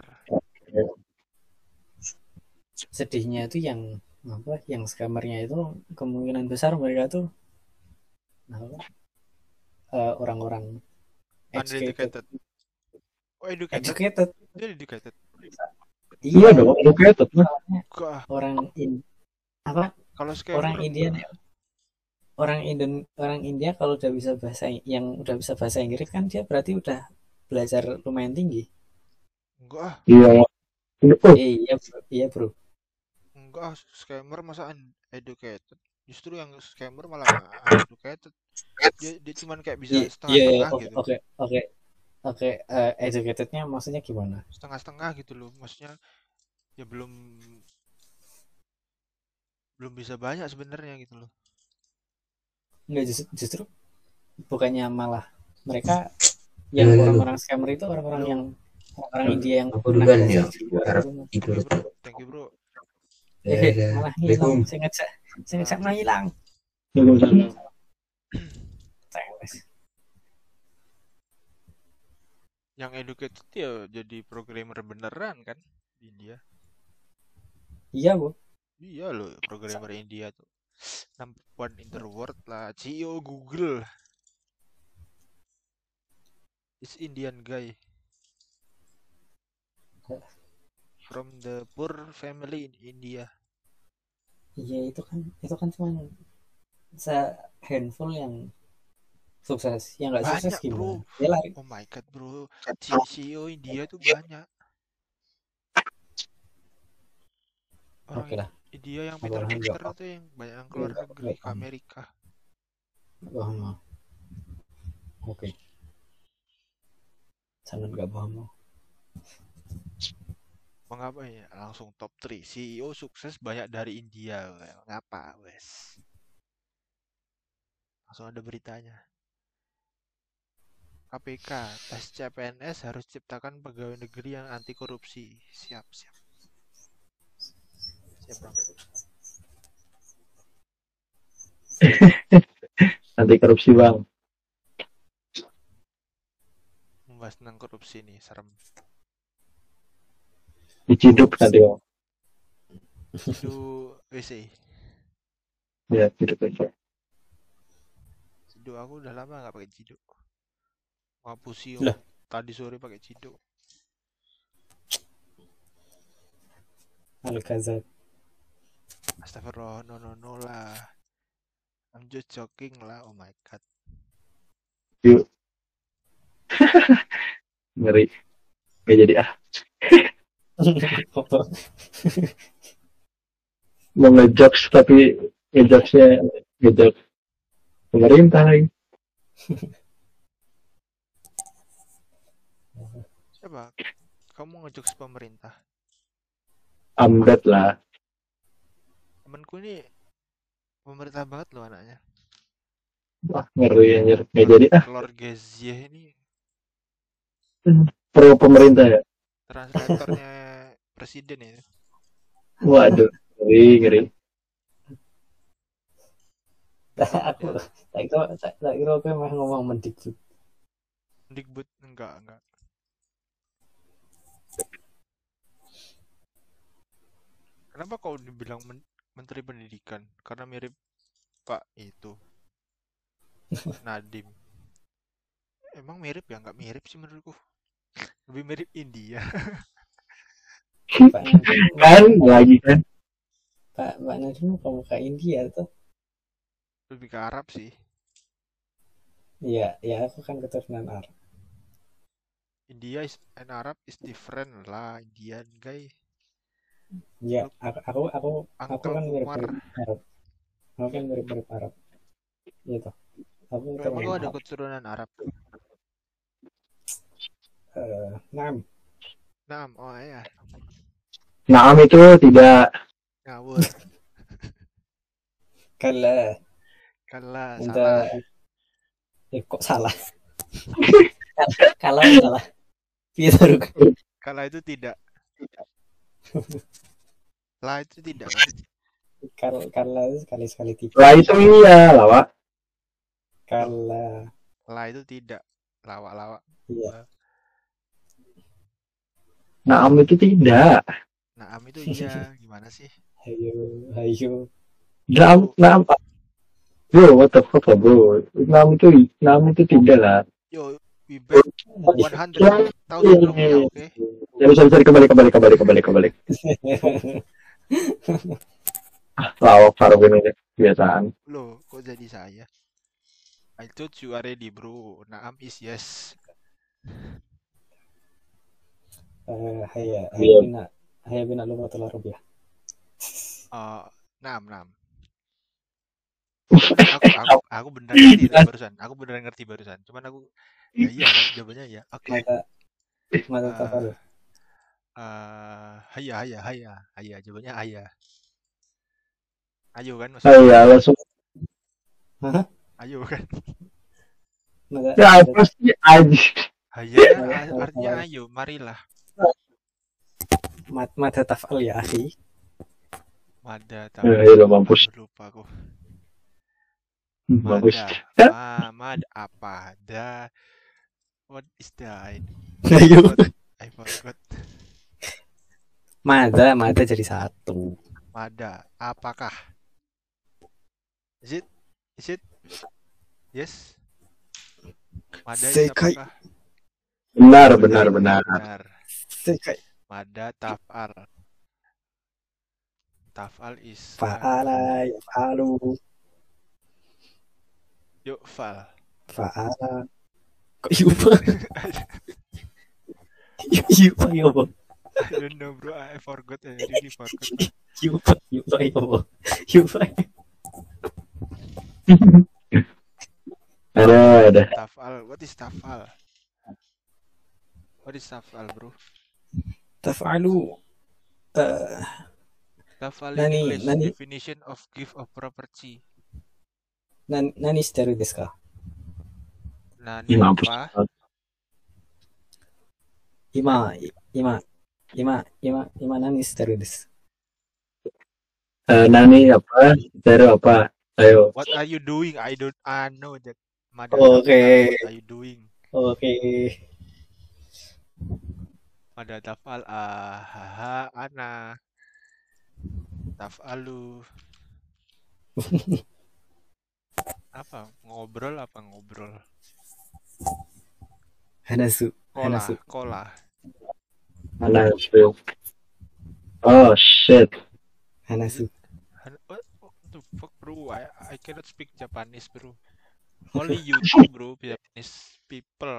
Sedihnya itu yang apa? Yang scammernya itu kemungkinan besar mereka tuh apa? Orang-orang educated. Uneducated. Oh, educated. Educated. Dia educated. Iya dong, educated lah. Gak. Orang apa? Kalau Orang scammer India orang India kalau udah bisa bahasa Inggris kan dia berarti udah belajar lumayan tinggi. enggak ah. Iya. Iya bro. Enggak ah, scammer masa uneducated. Justru yang scammer malah uneducated. Dia cuman kayak bisa setengah-setengah gitu. Oke. Educatednya maksudnya gimana? Setengah-setengah gitu loh. Maksudnya ya belum bisa banyak sebenarnya gitu loh. Enggak, justru bukannya malah mereka yang orang-orang scammer itu orang-orang yang orang India yang Aku duluan ya. Harap tidur. Thank you bro. Malah hilang. Saya ngecek malah hilang. Yang educated ya jadi programmer beneran kan di India. Iya bu. Iya loh, programmer India tuh number one in the world lah. CEO Google is Indian guy from the poor family in India. Iya itu kan cuma handful yang sukses, yang nggak sukses Banyak bro. gimana? Dia lari. Oh my god bro, CEO India tuh banyak. Orang Oke lah. India yang pinter-pinter tuh yang banyak yang keluar negeri ke Amerika. Bohong. Oke. Sangat nggak bohong. Mengapa ya? Langsung top 3 CEO sukses banyak dari India. Ngapa wes? Langsung ada beritanya. KPK, tes CPNS harus ciptakan pegawai negeri yang anti korupsi. Siap. Siap bang. Anti korupsi bang. Membahas tentang korupsi nih, serem. Diciduk nanti bang. Ciduk WC. Ya, ciduk aja. Ciduk aku udah lama nggak pakai ciduk. Ngapusi tadi sore pakai ciduk. Al-Kazak. Astagfirullah, no lah. I'm just joking lah, oh my god. Yuk. Ngeri. Gak jadi mau ngejokes tapi ngejokesnya ngejok pemerintah lagi. Siapa? Kamu ngejokes pemerintah? Amdet lah. Temenku ini pemerintah banget loh anaknya. Wah ngeri anjir. Gak jadi Lord Gezier ini pro pemerintah ya. Translatornya presiden ya. Waduh, ngeri. Aku tak kira aku emang ngomong Mendikbud. Mendikbud enggak. Kenapa kau dibilang Menteri Pendidikan? Karena mirip Pak itu Nadiem. Emang mirip ya? Nggak mirip sih menurutku. Lebih mirip India. Kan lagi kan. Pak Nadiem pemuka India tuh. Lebih ke Arab sih. Iya, ya aku kan keturunan Arab. India and Arab is different lah, Indian guy. Ya, aku kan mirip Arab. Aku kan mirip Arab. Gitu. Emang kau ada keturunan Arab? Naam, oh ya. Naam itu tidak. Ngawur. Kalah. Salah. Kok salah? Kalau salah. Kalah itu tidak. Lah itu tidak. Kalah itu sekali-sekali tidak. Lah itu iya lah, Pak. Kalah. La itu tidak. Lawak-lawak. Iya. Naam itu tidak. Naam itu iya. Gimana sih? Hayo. Naam. Bro, what the fuck bro? Naam itu tidak lah. Yo, we bet 100,000 rupiah, oke? Ya bisa kembali. Lawak Farwin ini kebiasaan. Loh, kok jadi saya? I told you already, bro. Naam is yes. Haya bina lumatul rupiah. Naam. Aku beneran ngerti barusan. Cuman aku ya iya kan jawabannya ya. Oke. Mata tafal. Haya. Jawabannya haya. Ayo kan maksudnya. Iya, langsung. Hah? Ayo kan. Ya pasti aja. Haya artinya ayo, marilah. Mata tafal ya, akhi. Mada tafal. Ya, mampus. Lupa aku. Bagus. Mad apa? What is that? I forgot. Mada jadi satu. Mada, apakah? Is it? Yes. Mada itu Sekai. apakah? Benar. Sekai. Mada taf'al. Taf'al is Fa'ala, yaf'alu. Yuk, fal. Fa'ala. Kok yupa? Yupa ya, Bang. I don't know, bro. I forgot. I really forgot. Yupa ya, Bang. Yupa. Ada. Taf'al. What is taf'al? Bro? Taf'alu. Taf'al Nani- English nani- definition of gift of property. Nani shiteru desu ka? Nani Mampus. apa? Ima nani shiteru desu. Nani apa? Teru apa? Ayo. What are you doing? I don't know that. Mada Okay. taf'al, what are you doing? Oke. Mada taf'al haha ana. Taf'alu. Apa? Ngobrol. Hanasu. Kola. Mana spill? Oh shit. Hanasu. What the fuck, bro? I cannot speak Japanese, bro. Only you two, bro, Japanese people.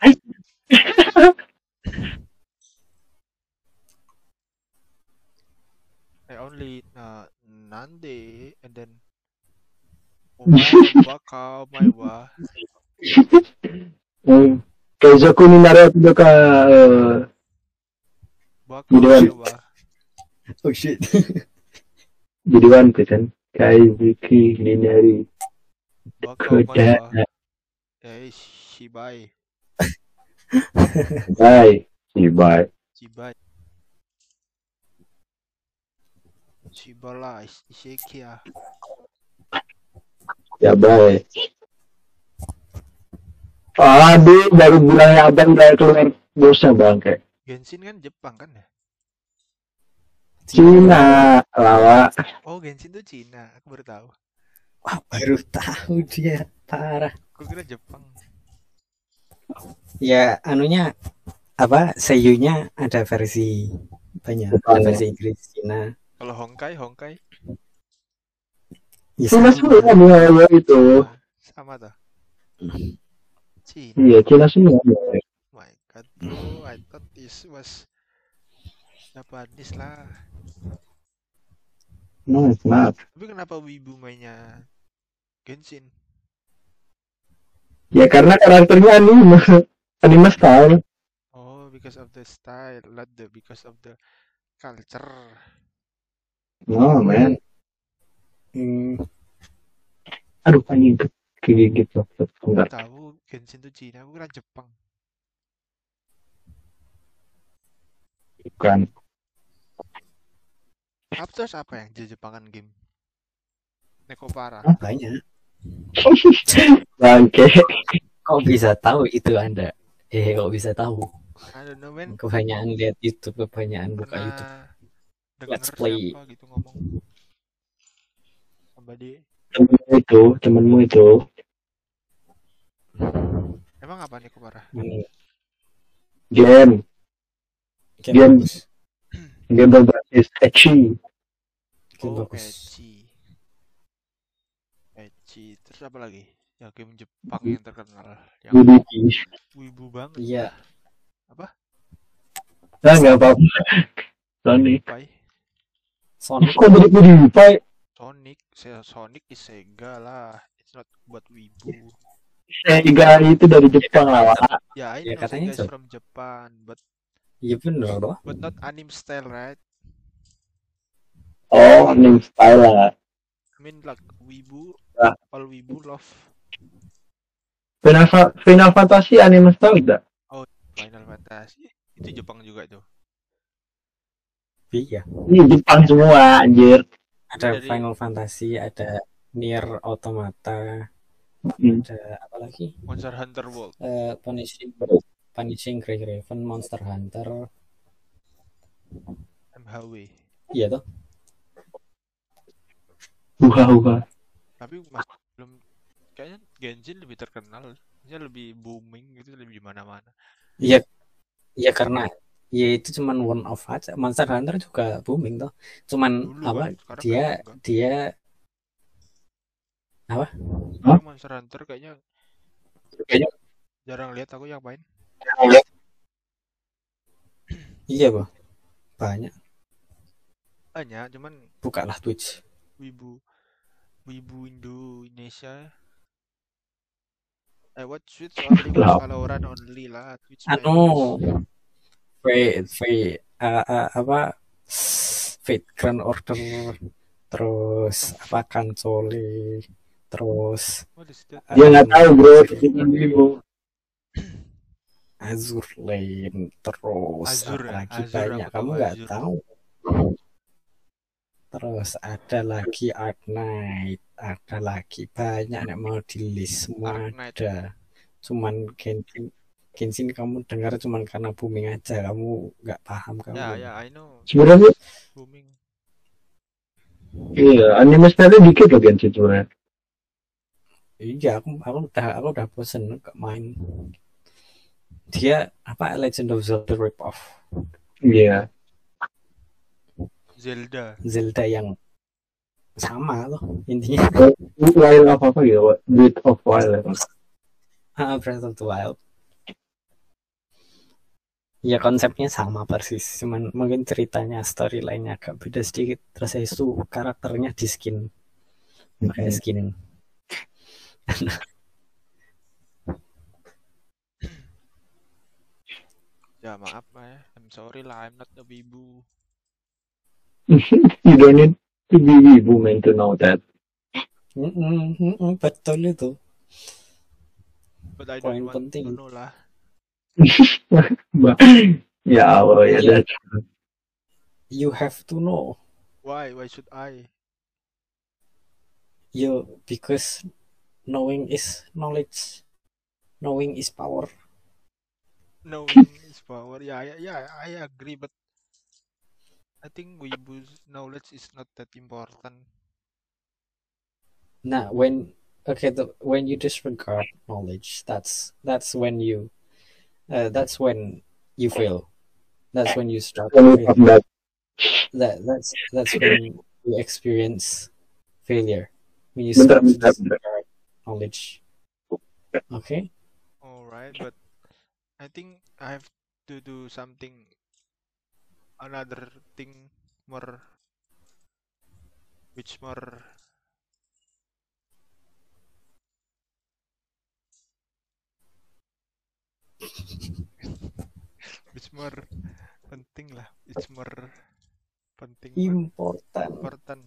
I only nande and then baka maiwa. Keizoku ni naruto to ka Baka Gideon. maiwa. Oh shit. jadi One Piece kan. Kaizuki ni nari. Baka Kuda. maiwa. Shibai. Bye. Bye. Shibala Isekia. Ya bye. Aduh, baru bilangnya abang udah keluar bosnya bangke. Genshin kan Jepang kan ya? Cina, lawa. Oh, Genshin tuh Cina. Aku baru tahu. Wah, baru tahu dia. Parah. Aku kira Jepang. Ya, anunya apa? Seiyunya ada versi banyak. Ada versi Inggris, Cina. Kalau Honkai. Ya, Cina sama. semua ya itu. Sama tuh. Cina. Iya, Cina semua. My God, bro, I thought this was Japanese lah. No, it's not. Tapi kenapa wibu mainnya Genshin? Ya karena karakternya anime style. Oh, because of the style, not because of the culture. No, man. Aduh, anjing kegigit loh. Aku Bentar. tahu Genshin tuh Cina, aku kira Jepang. Bukan. Terus apa yang Jepangan game? Nekopara. Banyak. Bangke. Kok bisa tahu itu Anda? Kok bisa tahu? I don't know man, Kebanyakan lihat YouTube, kebanyakan buka YouTube. pernah Let's denger play. siapa gitu ngomong sama dia. Temenmu itu. Emang apa nih parah? Mana? Game Game. bagus. Game berbasis ecchi. Game Oh, bagus. Ecchi. Terus apa lagi? Ya game Jepang yang terkenal, yang Wibu. wibu banget. Iya. Apa? Nah, nggak apa-apa. Sonic. Pai. Sonic. Kok jadi PewDiePie? Sonic is Sega lah. It's not buat wibu. Sega itu dari Jepang lah, Wak. Yeah, I Ya, know katanya Sega is so. from Japan, but Iya bener loh. not anime style, right? Oh, anime style lah. I mean like wibu, Ah. all wibu love Final Fantasy anime style enggak? Final Fantasy. Itu Jepang juga tuh. Iya. Ini Jepang semua, anjir. Ada Dari- Final Fantasy, ada Nier Automata, Hmm. ada apa lagi? Monster Hunter World. Punishing Grey Raven, Monster Hunter. MHW. Iya toh. Buka. Tapi masih belum, kayaknya Genshin lebih terkenal, dia lebih booming gitu, lebih di mana-mana. Iya. Iya karena ya itu cuman one off aja. Monster Hunter juga booming toh. Cuman Dulu apa kan, sekarang dia kayaknya enggak. dia apa? Sekarang Monster Hunter kayaknya jarang lihat aku yang main. Iya boh. Banyak. Cuman Bukalah Twitch. wibu Indonesia. What Switch only, Lah. Valorant only lah. Twitch Anu apa Fate Grand Order, terus apa Kansole, terus What is that? Dia nggak tahu, bro. Bukan Wibu. Azur Lane, terus Azur, apa lagi Azur, banyak aku kamu tahu nggak Azur. tahu. Terus ada lagi Ark Knight, ada lagi banyak yang mau di list semua Ark Knight. ada. Cuman Genshin kamu dengar cuman karena booming aja, kamu nggak paham kamu. Ya, I know. Sebenarnya Booming. iya, anime style dikit loh Genshin sebenarnya. Iya, aku udah bosen nggak main. Dia apa Legend of Zelda rip-off. Iya. Zelda yang sama loh intinya. Wild apa gitu, Breath of Wild. Breath of the Wild. Ya konsepnya sama persis, cuman mungkin ceritanya, storyline-nya agak beda sedikit. Terus itu karakternya di skin, pakai skin. Ya maaf ya, I'm sorry lah, I'm not a wibu. You don't need to be wibu man to know that. Betul itu. But I Poin don't want penting. to know lah. Ya Allah ya. Iya. You have to know. Why should I? Because knowing is knowledge. Knowing is power. Knowing is power. Yeah, I agree, but I think wibu's knowledge is not that important. Nah, when you disregard knowledge, that's when you fail. That's when you start failing. That's when you experience failure. When you start to disregard knowledge. Okay? Alright, but I think I have to do another thing more, which more penting lah, it's more penting, important.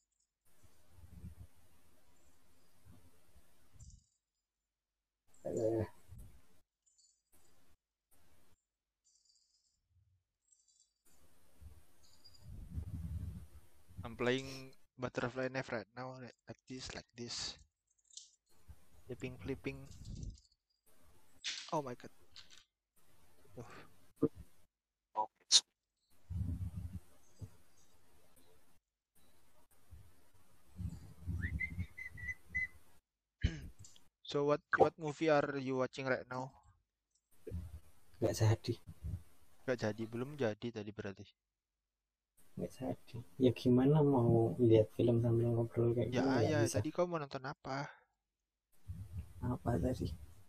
I'm playing Butterfly Knife right now, like this, flipping. Oh my god. Tuh. So what movie are you watching right now? Nggak jadi. Gak jadi, belum jadi tadi berarti. Nggak jadi. Ya gimana mau lihat film sambil ngobrol kayak Ya gini, nggak ayah, bisa. tadi kau mau nonton apa? Apa tadi?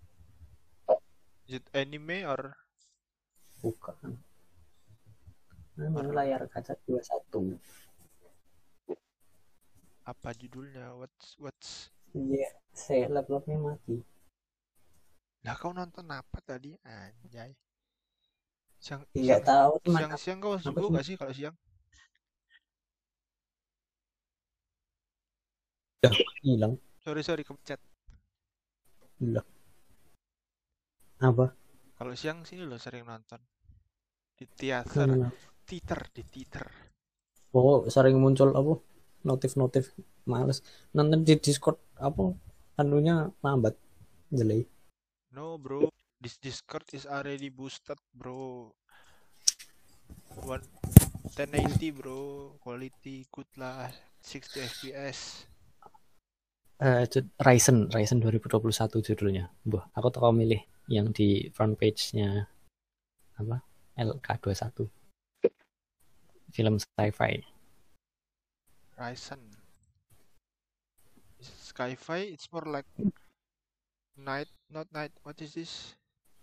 Is it anime or Bukan. Layar kaca 21. apa judulnya? What's Iya, saya laptopnya mati. Lah kau nonton apa tadi? Anjay. Nggak tahu teman. Siang kau Apa sibuk sih? gak sih kalau siang? Hilang. Sorry kepencet. Hilang. Apa? Kalau siang sini lo sering nonton di teater, di teater. Oh, sering muncul apa? Notif. Males. Nonton di Discord apa? Anunya lambat. Jelek. No bro, this Discord is already boosted bro. 1080 bro, quality good lah, 60 fps. Ryzen 2021 judulnya. Aku tuh milih yang di front page-nya apa? LK21. Film sci-fi. Ryzen. Sci-fi, it's more like night, not night. What is this?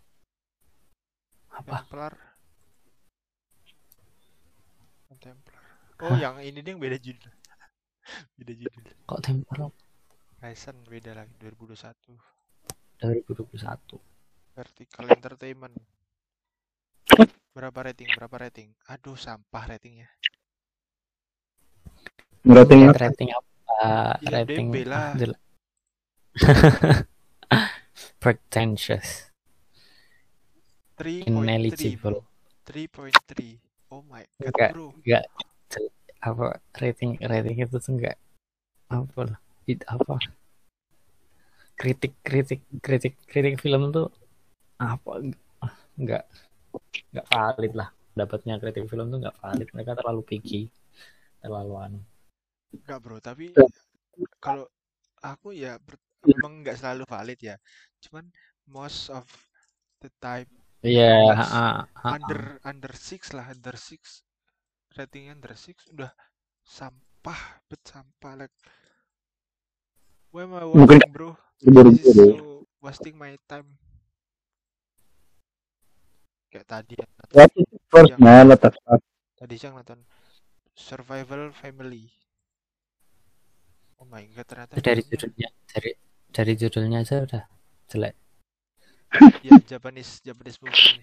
Apa? Templar. Oh, yang ini dia yang beda judul. Beda judul. Kok Templar? Ryzen beda lagi 2021. 2021. Vertical Entertainment. Berapa rating? Aduh, sampah ratingnya. Rating apa? Rating lah. Pretentious. 3.3. 3.3. Oh my god, bro. Enggak apa rating itu tuh enggak apa kritik film tuh apa enggak valid lah, dapatnya kritik film tuh enggak valid, mereka terlalu picky, terlalu enggak bro, tapi kalau aku ya memang enggak selalu valid ya, cuman most of the time under 6 lah, under 6 ratingnya, under 6 udah sampah like why am I watching bro, this is so wasting my time. Kayak tadi siang nonton Survival Family. Oh my god, ternyata dari judulnya aja udah jelek. Ya, Japanese movie.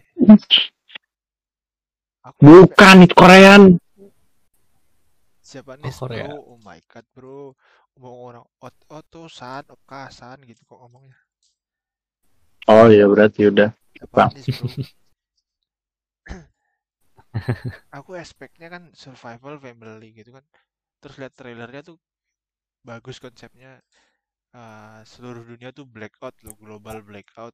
Bukan, itu Korean. Japanese Korea. Bro, oh my god bro, ngomong orang otosan, okasan gitu kok ngomongnya. Oh ya berarti udah. Japanese bro. Aku expect-nya kan survival family gitu kan, terus lihat trailernya tuh bagus konsepnya, seluruh dunia tuh blackout loh, global blackout.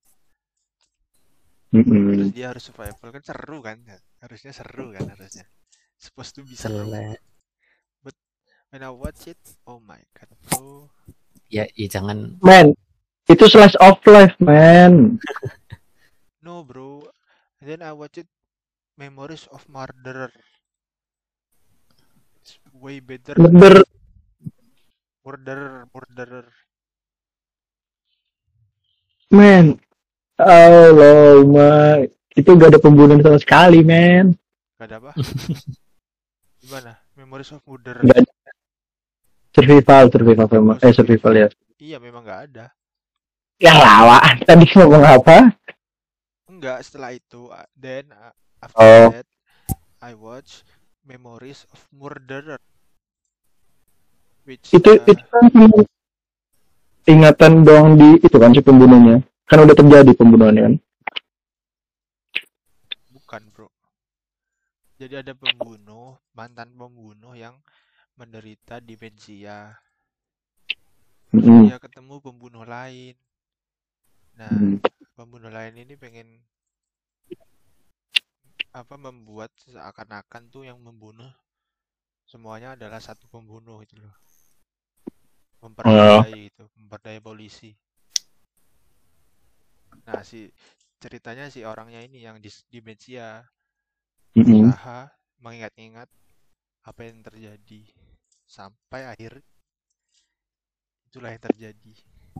Terus dia harus survival kan, seru kan, harusnya supposed to be seru. But when I watch it, oh my god bro. Ya jangan. Man, itu slice of life man. No bro, and then I watch it, Memories of Murderer. It's way better. Murderer. Man, Allah my, itu gak ada pembunuhan sama sekali, man. Gak ada apa? Gimana? Memories of Murderer. Gak ada. Survival ya. Iya, memang gak ada. Ya lawan, tadi ngomong apa? Enggak, setelah itu, then after that, I watch Memories of Murderer. Which itu kan ingatan doang di itu kan si pembunuhnya. Kan udah terjadi pembunuhannya kan? Bukan bro. Jadi ada mantan pembunuh yang menderita demensia. Dia ketemu pembunuh lain. Nah, pembunuh lain ini pengen membuat seakan-akan tuh yang membunuh semuanya adalah satu pembunuh itu loh. Memperdaya polisi. Nah, ceritanya si orangnya ini yang demensia berusaha mengingat-ingat apa yang terjadi sampai akhir itulah yang terjadi.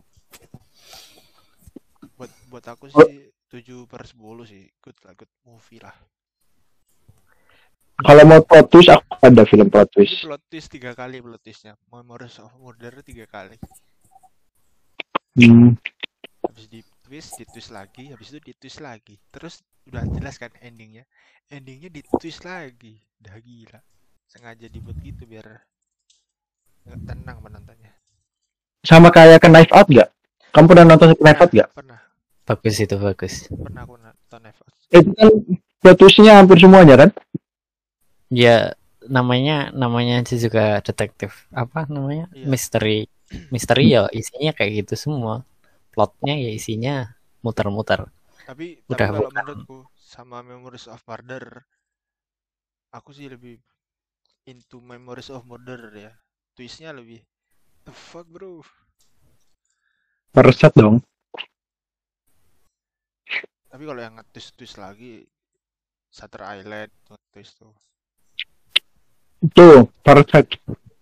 Buat aku sih 7/10 sih, good movie lah. Kalau mau plot twist, aku ada film plot twist. Ini plot twist 3 kali plot twistnya. Memories of Murder 3 kali. Habis di twist lagi, habis itu di twist lagi. Terus udah jelas kan endingnya. Endingnya di twist lagi. Udah gila. Sengaja dibuat gitu biar nggak tenang menontonnya. Sama kayak ke Knife Out gak? Kamu pernah nonton Knife Out gak? Pernah. Bagus itu, bagus. Pernah aku nonton Knife Out. Itu kan plot twistnya hampir semuanya kan? Ya, namanya aja juga detektif. Apa namanya? Iya. Misteri ya isinya kayak gitu semua. Plotnya ya isinya muter-muter. Tapi Udah kalau bukan. menurutku sama Memories of Murder, aku sih lebih into Memories of Murder ya. Twistnya lebih the fuck bro. Meresat dong. Tapi kalau yang twist lagi Shutter Island twist tuh. Tuh, Parasite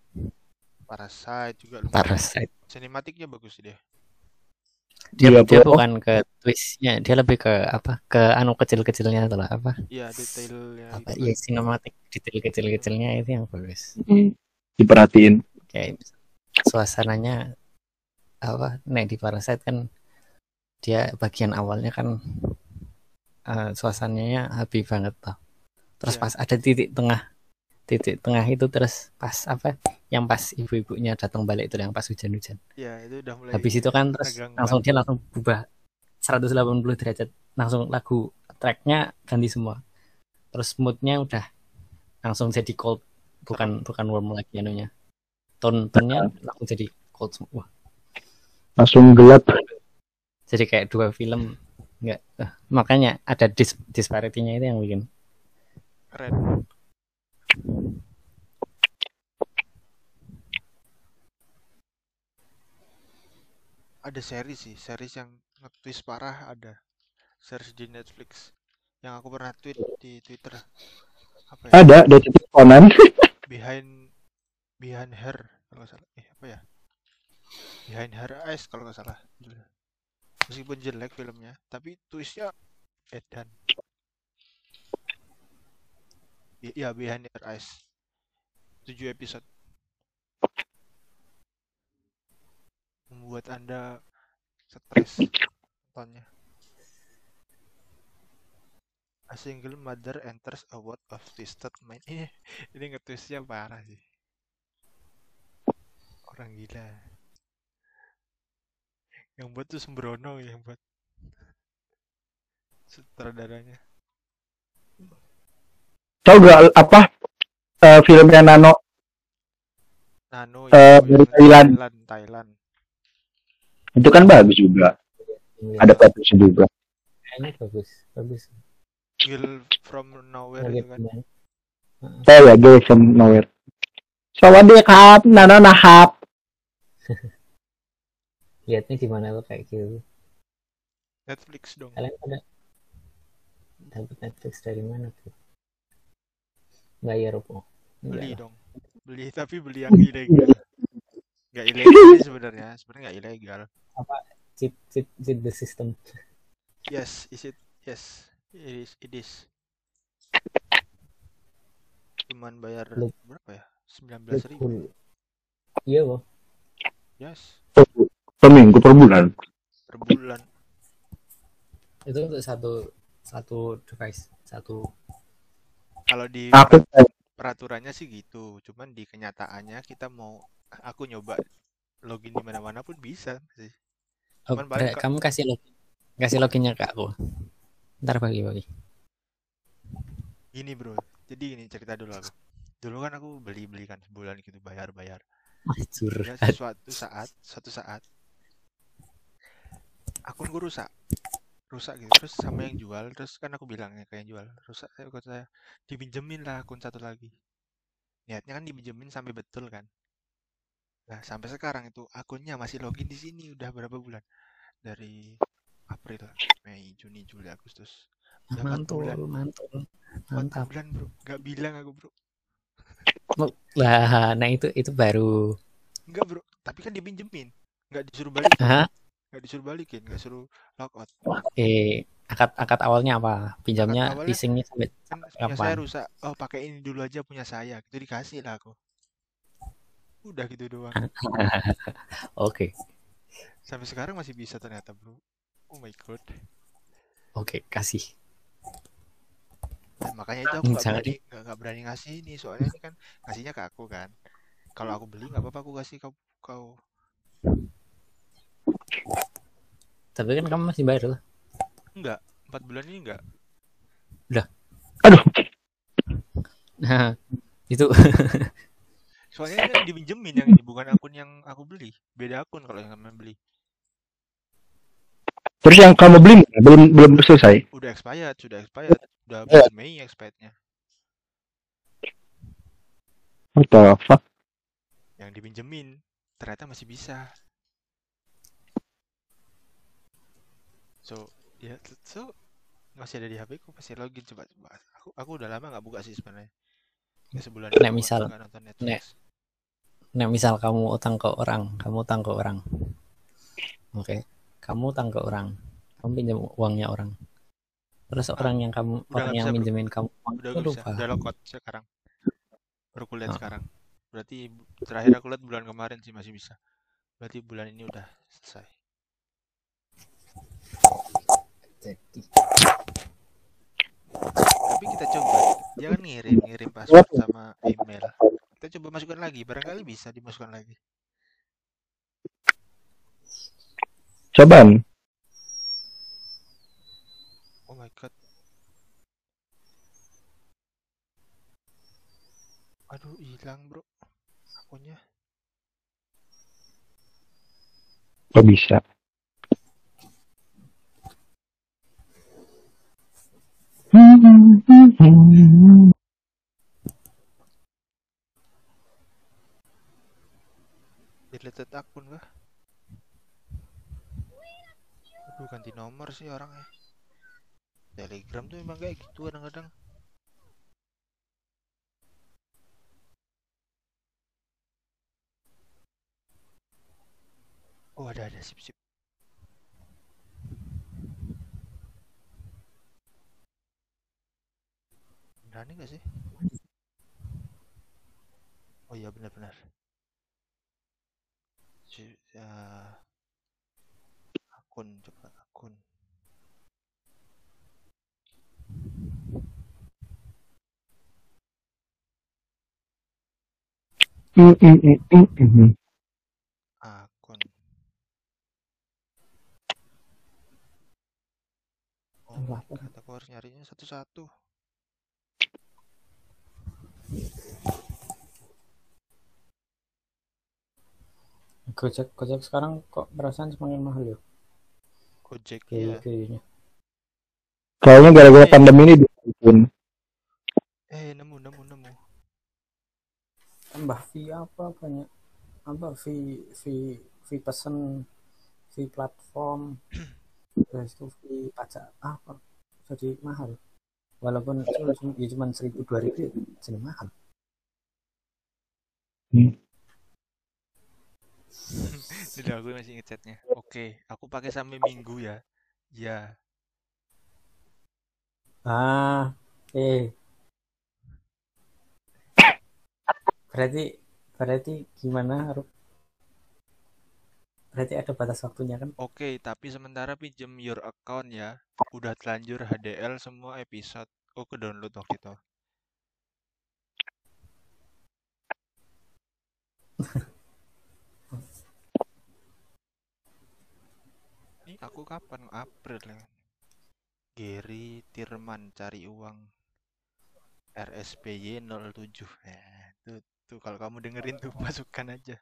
juga lumayan. Parasite. Sinematiknya bagus sih dia. Dia bukan ke twistnya, dia lebih ke apa? Ke kecil-kecilnya itulah apa? Iya, detailnya. Apa? Ya sinematik detail kecil-kecilnya itu yang bagus. Diperhatiin. Kayak suasananya apa? Nek di Parasite kan dia bagian awalnya kan suasananya happy banget tuh. Terus pas ada titik tengah itu terus pas apa? Yang pas ibu-ibunya datang balik itu yang pas hujan-hujan. Iya, itu udah mulai. Habis itu kan terus langsung berubah 180 derajat, langsung lagu tracknya ganti semua. Terus moodnya udah langsung jadi cold, bukan warm lagi anunya. Tone-nya langsung jadi cold semua. Langsung gelap. Jadi kayak dua film enggak. Makanya ada disparity-nya itu yang bikin keren. Ada series yang nge-twist parah ada. Series di Netflix yang aku pernah tweet di Twitter. Apa ya? Ada Detektif Conan. Behind Her kalau nggak salah. Apa ya? Behind Her Eyes kalau nggak salah. Meskipun jelek filmnya, tapi twistnya edan. Ya, Behind Her Eyes. 7 episode. Membuat Anda stres nontonnya. A single mother enters a world of twisted mind. Ini nge-twistnya parah sih. Orang gila. Yang buat tuh Sembrono yang buat sutradaranya. Tahu gak apa filmnya Nano dari Thailand. Itu kan bagus juga. Ada bagusnya juga. Kayaknya bagus. Girl from Nowhere itu kan. Ya, Girl from Nowhere. Sawadee-kap, Nano nahap. Lihatnya gimana lo kayak gitu? Netflix dong. Kalian pada dapat Netflix dari mana tuh? Bayar apa? Beli dong. Tapi beli yang ilegal. Nggak ilegal sih sebenarnya nggak ilegal. Apa cheat the system? Yes, yes, it is. Cuman bayar berapa ya? 19.000. Iya loh. Yes. Per minggu, per bulan. Itu untuk satu device, satu. Kalau di peraturannya sih gitu, cuman di kenyataannya aku nyoba login di mana-mana pun bisa sih. Cuman kamu kasih loginnya ke aku. Ntar bagi. Gini bro, jadi gini cerita dulu aku. Dulu kan aku beli kan sebulan gitu bayar. Ya, suatu saat akunku rusak. rusak gitu. Terus sama yang jual, terus kan aku bilang ya kayak jual rusak, saya dipinjemin lah akun satu lagi. Niatnya kan dipinjemin sampai betul kan. Nah, sampai sekarang itu akunnya masih login di sini udah berapa bulan? Dari April, Mei, Juni, Juli, Agustus. Udah 4 bulan. Mantul, mantul, 4 mantap. bulan, Bro. Gak bilang aku, Bro. Lah, nah itu baru. Enggak, Bro. Tapi kan dipinjemin. Nggak disuruh balikin. Hah? Nggak disuruh balikin, nggak suruh logout. Akad awalnya apa? Akad Pinjamnya awalnya leasingnya sampai kan punya kapan? saya rusak. Oh, pakai ini dulu aja punya saya. Itu dikasih lah aku. Udah gitu doang. Oke, Sampai sekarang masih bisa ternyata, Bro. Oh my god. oke, kasih. Dan makanya itu aku nggak Jangan berani nggak berani ngasih ini, soalnya ini kan ngasihnya ke aku kan. Kalau aku beli nggak apa-apa aku kasih kau. Tapi kan kamu masih baru. Enggak, 4 bulan ini enggak. Udah. Aduh. Nah, itu Soalnya ini dipinjemin yang ini, bukan akun yang aku beli. Beda akun kalau yang kamu beli. Terus yang kamu beli belum selesai. Udah expired. Udah Ya. bulan Mei expirednya. What the fuck? Yang dipinjemin ternyata masih bisa. So masih ada di HP ku, pasti login coba. Aku udah lama nggak buka sih sebenarnya. Kayak sebulan ini aku nggak nonton Netflix. misal kamu utang ke orang. Oke. Kamu utang ke orang. Kamu pinjam uangnya orang. Terus orang yang minjemin kamu uang udah itu gak bisa, lupa. udah logout sekarang. Baru kulihat sekarang. Berarti terakhir aku lihat bulan kemarin sih masih bisa. Berarti bulan ini udah selesai. Tapi kita coba, jangan ngirim password sama email. Kita coba masukkan lagi, barangkali bisa dimasukkan lagi. Cobaan. Oh my god. Aduh, hilang bro akunnya. Kok bisa? Deleted akun kah? Aduh, ganti nomor sih orangnya. Telegram tuh emang kayak gitu kadang-kadang. Oh ada sip. Berani gak sih? Oh iya benar. Akun, coba akun. Akun. Oh my god, aku harus nyarinya satu-satu. Gojek sekarang kok perasaan semakin mahal ya? Gojek ya. Kayaknya gara-gara pandemi ini bikin. Nemu. Tambah fee apa banyak? Apa fee pesan, fee platform, terus itu fee pajak apa? Jadi mahal. Walaupun cuma 1.000-2.000 jadi mahal. Udah aku masih ngechatnya. Oke, aku pakai sampai minggu ya. Ya. Berarti gimana? Berarti ada batas waktunya kan? Oke, tapi sementara pinjem your account ya. Udah telanjur HDL semua episode. Oh, ke download waktu itu. Ini aku kapan? April ya. Gary Tirman cari uang. RSPY 07. Tuh kalau kamu dengerin tuh masukkan aja.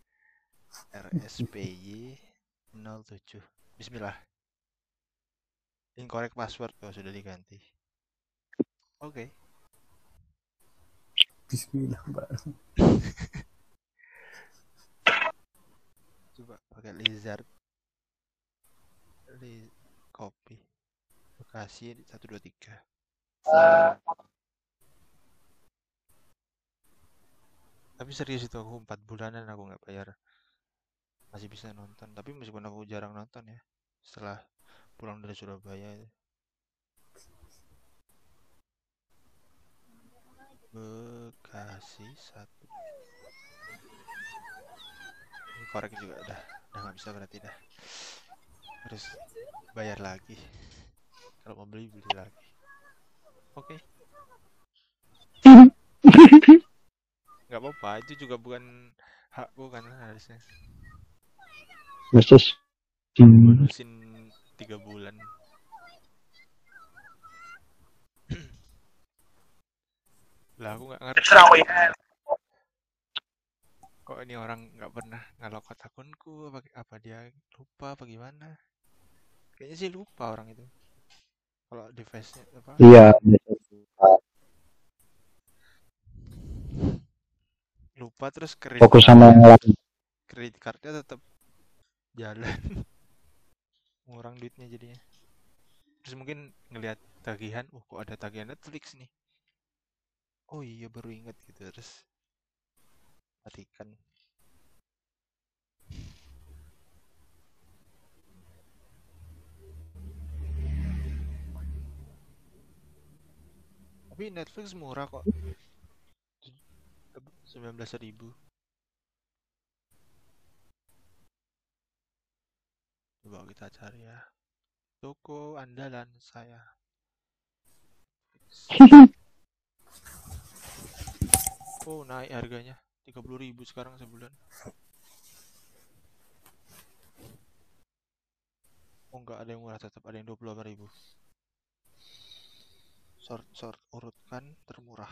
RSPY 07. Bismillah. Incorrect password. Oh, sudah diganti. Oke. Bismillah, Mbak. Coba pakai lizard. Copy. Bekasi 123. Tapi serius itu aku 4 bulanan aku nggak bayar. Masih bisa nonton. Tapi meskipun aku jarang nonton ya. Setelah pulang dari Surabaya. Bekasi 1. Ini korek juga udah nggak bisa berarti dah. Harus bayar lagi. Kalau mau beli lagi. Oke. Nggak apa-apa, itu juga bukan hakku kan harusnya. Versus Bonusin 3 bulan. Lah aku nggak ngerti. Kok ini orang nggak pernah ngalokot akunku, apa dia lupa apa gimana? Kayaknya sih lupa orang itu. Kalau device-nya apa? iya, Lupa terus fokus sama yang lain. kredit cardnya tetap jalan. Ngurang duitnya jadinya. Terus mungkin ngelihat tagihan, kok ada tagihan Netflix nih. Oh iya baru ingat gitu, terus matikan. Tapi Netflix murah kok. 19.000. Coba kita cari ya. Toko andalan saya. Oh naik harganya 30.000 sekarang sebulan. Oh enggak, ada yang murah, tetap ada yang 28.000. Sort urutkan termurah.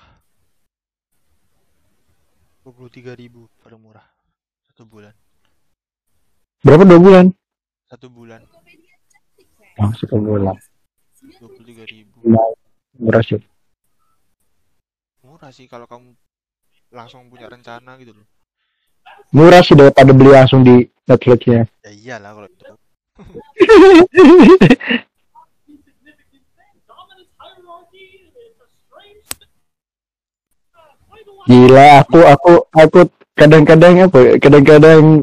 23.000 paling murah 1 bulan. Berapa 2 bulan? 1 bulan. Oh, 1 bulan. 23.000. Murah sih. Murah sih kalau kamu langsung punya rencana gitu loh. Murah sih daripada beli langsung di Netflix-nya. Ya iyalah kalau itu. Gila, aku kadang-kadang